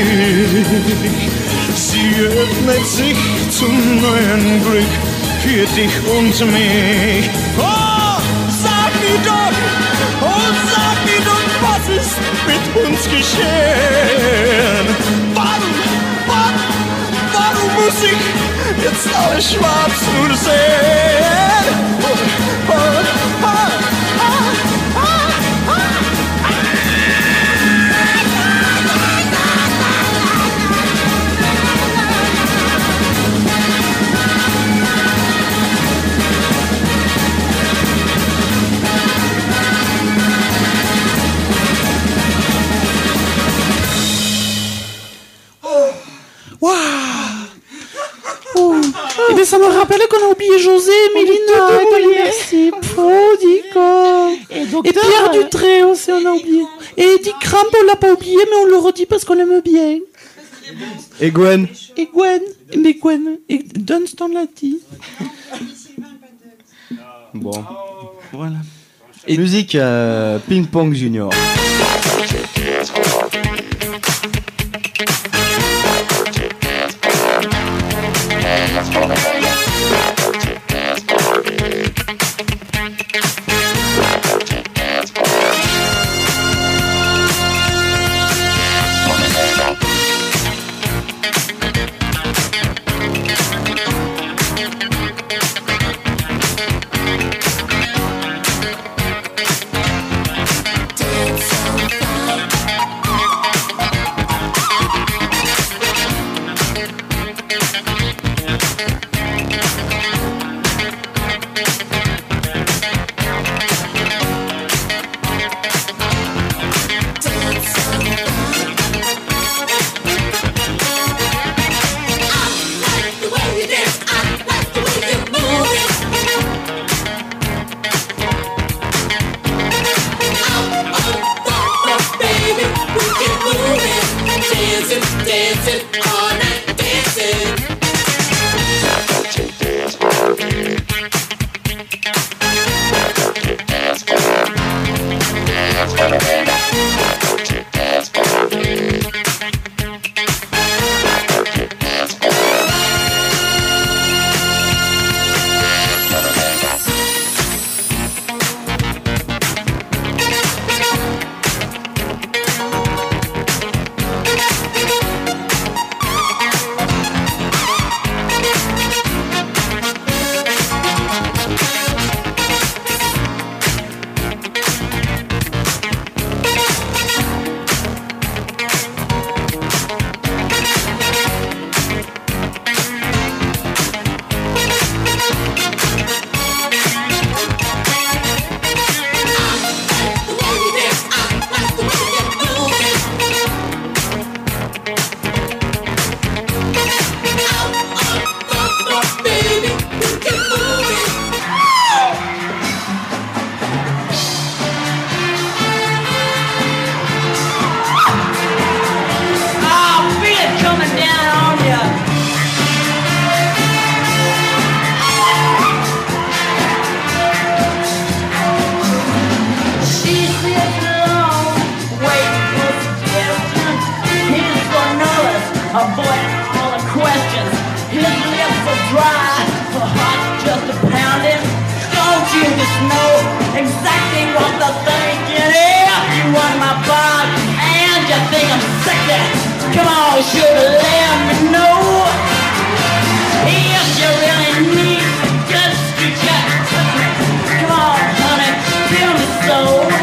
sich zum neuen Glück für dich und mich. Oh, sag mir doch, was ist mit uns geschehen? Warum muss ich jetzt alles schwarz nur sehen? Et bien ça me rappelle qu'on a oublié José, Mélina, merci, Prodico. Et Pierre Dutré aussi on a oublié. Et Eddie Cramp on l'a pas oublié mais on le redit parce qu'on l'aime bien. Et Gwen. Et Dunstan l'a dit. Bon. Voilà. Et musique Ping Pong Junior. Avoid all the questions. His Come on, sugar, let me know if you really need just reach out. Come on, honey, feel me so.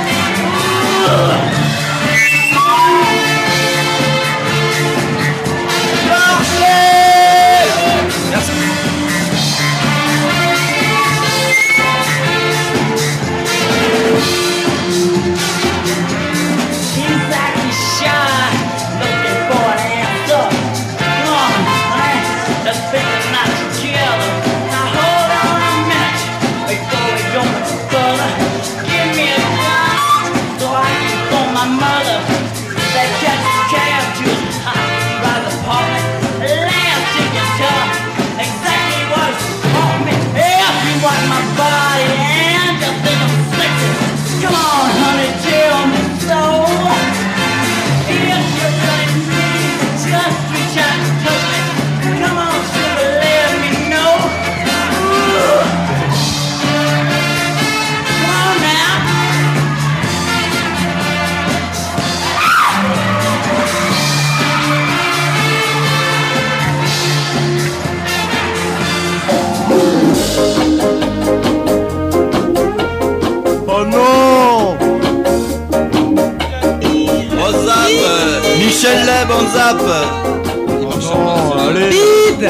Michel Leb en zap. Oh non, allez. Bide.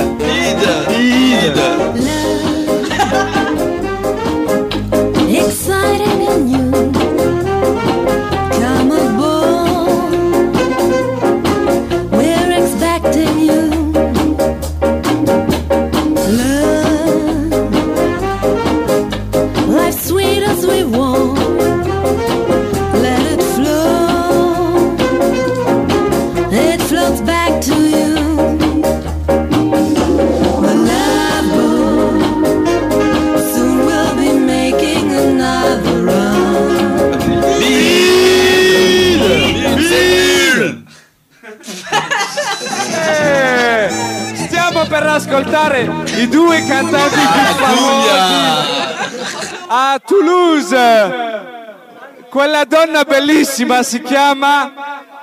Exciting and new. Come aboard. We're expecting you. Love. Life's sweet as we want. Let it flow. It floats back to you. The love boat. Soon we'll be making another run. Stiamo per ascoltare i due cantanti più famosi a Toulouse. Quella donna bellissima si chiama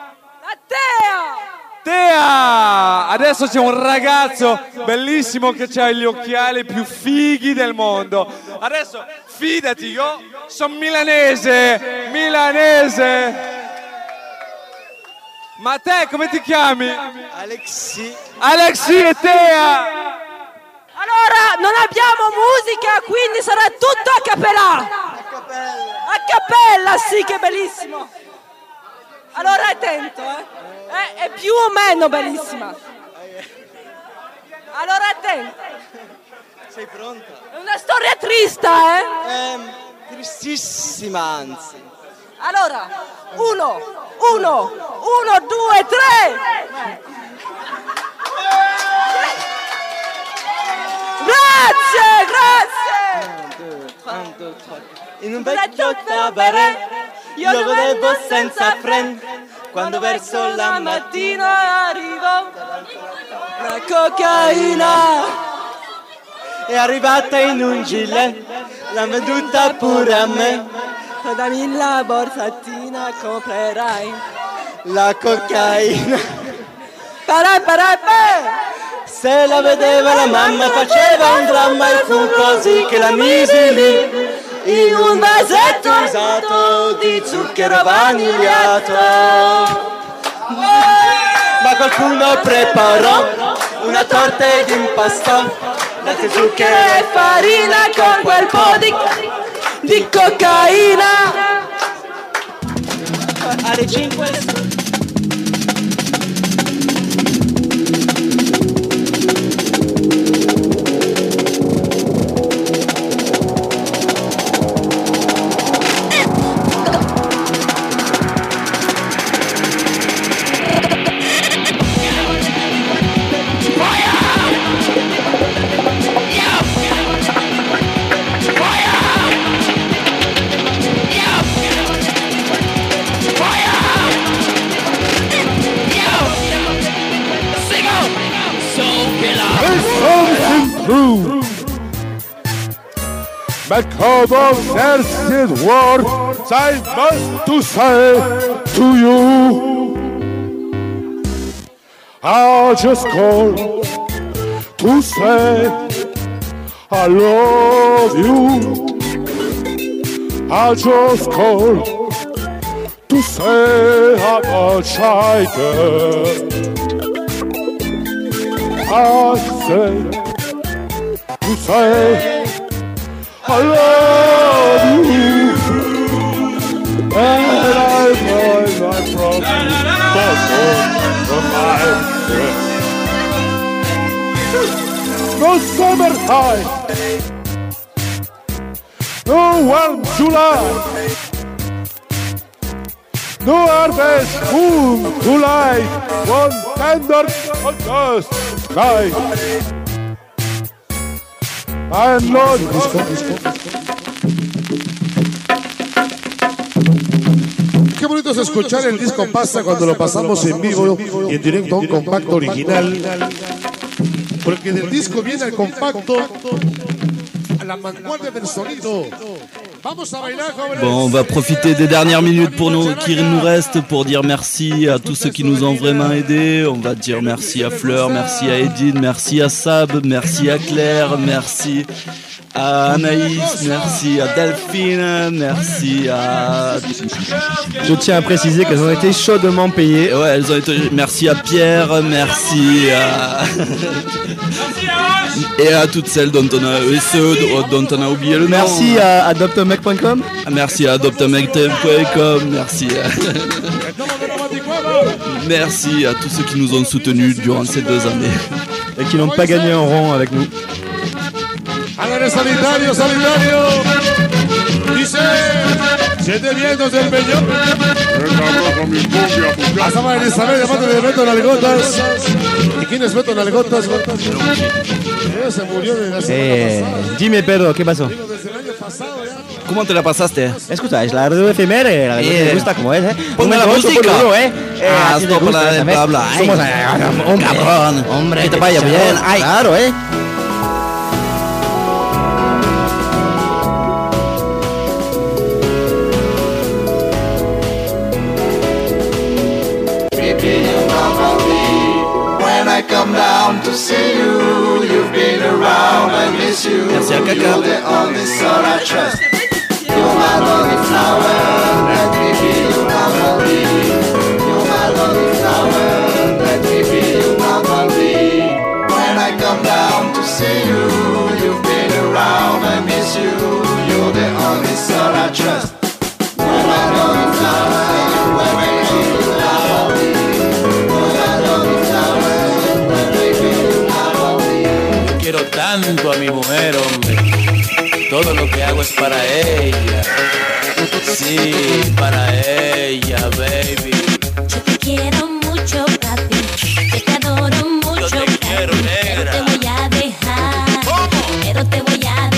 Tea. Adesso c'è un ragazzo bellissimo che ha gli occhiali più fighi del mondo. Adesso fidati, io sono milanese. Ma te come ti chiami? Alexi e Tea. Allora, non abbiamo musica, quindi sarà tutto a cappella. A cappella, sì, che bellissimo. Allora, attento, è più o meno bellissima. Allora, attento. Sei pronta? È una storia triste, Tristissima, anzi. Allora, uno, due, tre. Grazie. In un vecchio cabaret io godevo senza friend. Quando verso la mattina arrivo la cocaina è arrivata in un gilet, l'ha venduta pure a me. Dammi la borsatina, comprerai la cocaina. Se la vedeva la mamma faceva un dramma e fu così che la misi lì in un vasetto usato di zucchero vanigliato. Ma qualcuno preparò una torta ed impastò latte, zucchero e farina con quel po' di cocaina. Alle 5 Because of there's words I must to say to you. I just called to say I love you. I just called to say how much I care. I say to say I love you. And I find my problem of my breath. No summertime, no warm July, no harvest moon to light one tender August night. I'm not Qué bonito es escuchar el disco Pasa cuando lo pasamos en vivo y en directo a un compacto original. Porque del disco viene el compacto a la vanguardia del sonido. Vamos a bailar, jóvenes. Bon, on va profiter des dernières minutes qui nous restent pour dire merci à tous ceux qui nous ont vraiment aidés. On va dire merci à Fleur, merci à Edine, merci à Sab, merci à Claire, merci à Anaïs, merci à Delphine, merci à... Je tiens à préciser qu'elles ont été chaudement payées. Ouais, elles ont été... Merci à Pierre, merci à... Et à toutes celles dont on a... Et ceux dont on a oublié le nom. Merci à adoptomec.com. Merci à adoptomec.com, merci à... Merci à tous ceux qui nous ont soutenus durant ces 2 années. Et qui n'ont pas gagné un rond avec nous. Háganle sanitario, sanitario. Dice, siete vientos del peñón. Hasta va Elizabeth, llamando de Beto Nalgotas. ¿Y quién es Beto Nalgotas? Se murió de la semana pasada. Dime, Pedro, ¿qué pasó? ¿Cómo te la pasaste? Escucha, es la radio efeméride, la radio me gusta como es, Ponme la música. Esto para de hablar. Somos hombre, cabrón. Hombre, que te vaya bien. Ay. Claro, Come down to see you. You've been around, I miss you. You're the only soul I trust. You're my lonely flower. Let me be your bumblebee. You're my lonely flower. Let me be your bumblebee. When I come down to see you, you've been around, I miss you. You're the only soul I trust. You're my lonely flower. Let me be your bumblebee. Quiero tanto a mi mujer, hombre. Todo lo que hago es para ella. Sí, para ella, baby. Yo te quiero mucho, papi. Yo te adoro mucho. Yo te quiero, negra. Pero te voy a dejar. ¿Cómo? Pero te voy a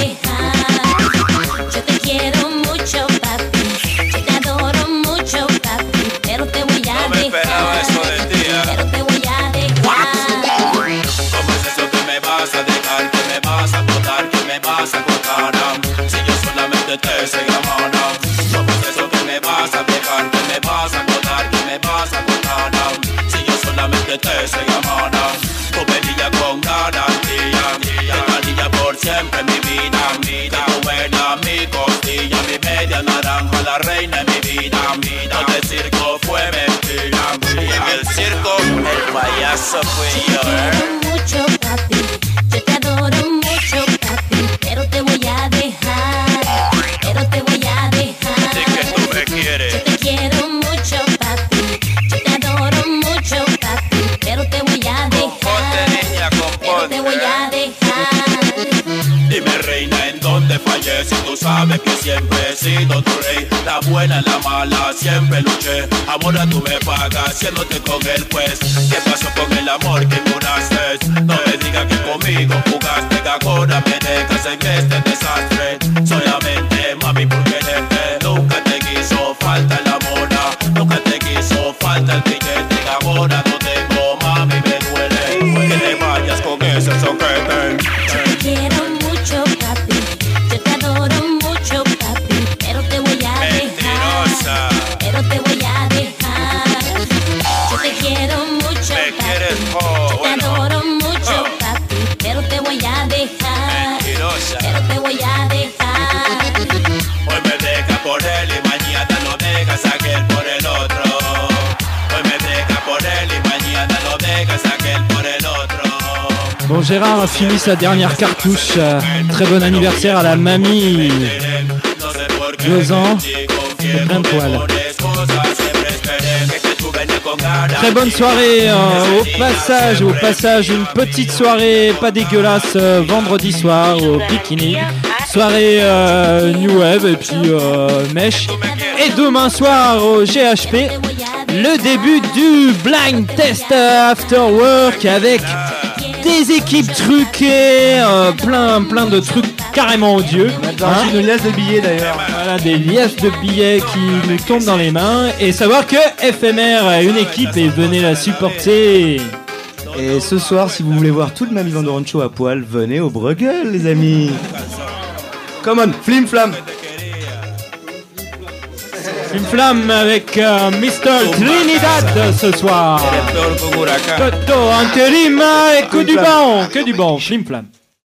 dejar. Yo te quiero mucho, papi. Yo te adoro mucho, papi. Pero te voy a dejar. No me esperaba eso de ti. Pero te voy a dejar. ¿Cómo es eso que me vas a dejar? Que me vas a botar, que me vas a cortar. Si yo solamente te sé amar. ¿Cómo es eso que me vas a dejar? Que me vas a botar, que me vas a cortar. Si yo solamente te sé amar. Comedia con garantía. Garantía por siempre mi vida. Tu buena, mi costilla, mi media naranja, la reina de mi vida. Todo el circo fue mentira. Y en el circo el payaso fui yo. Mucho, papi. Yo te adoro mucho, papi. Pero te voy a dejar. Pero te voy a dejar. ¿De que tú me quieres? Yo te quiero mucho, papi. Yo te adoro mucho, papi. Pero te voy a dejar. Componte, niña, Pero te voy a dejar. Dime, reina, ¿en dónde fallé? Si tú sabes que siempre he sido tu rey. La buena, la mala, siempre luché. Ahora tú me pagas, haciéndote con el juez. ¿Qué pasó con el amor que curaste? No me digas que conmigo jugaste, que ahora me dejas en este desastre. Solamente, mami, por quererte. Nunca te quiso falta el amor. Nunca te quiso falta el billete. Ahora no tengo, mami, me duele. Que te vayas con ese soquete. Yo te quiero mucho, papi. Yo te adoro mucho, papi. Pero te voy a dejar. Pero te voy a dejar. Yo te quiero mucho, papi. ¿Me quieres, Yo te Bon, Gérard a fini sa dernière cartouche. Très bon anniversaire à la mamie. 2 ans et plein de poils. Très bonne soirée. Au passage, une petite soirée pas dégueulasse vendredi soir au Bikini. Soirée New Wave et puis Mèche. Et demain soir au GHP, le début du Blind Test After Work avec des équipes truquées, plein de trucs carrément odieux. Une liasse de billets d'ailleurs. Voilà, des liasses de billets qui nous tombent dans les mains. Et savoir que FMR a une équipe et venez la supporter. Et ce soir, si vous voulez voir tout le Mamie Van Doren Show à poil, venez au Bruegel, les amis. Come on, flim flam. Une flamme avec Mr. Trinidad ce soir. Toto, intérim et que du bon, flim flam.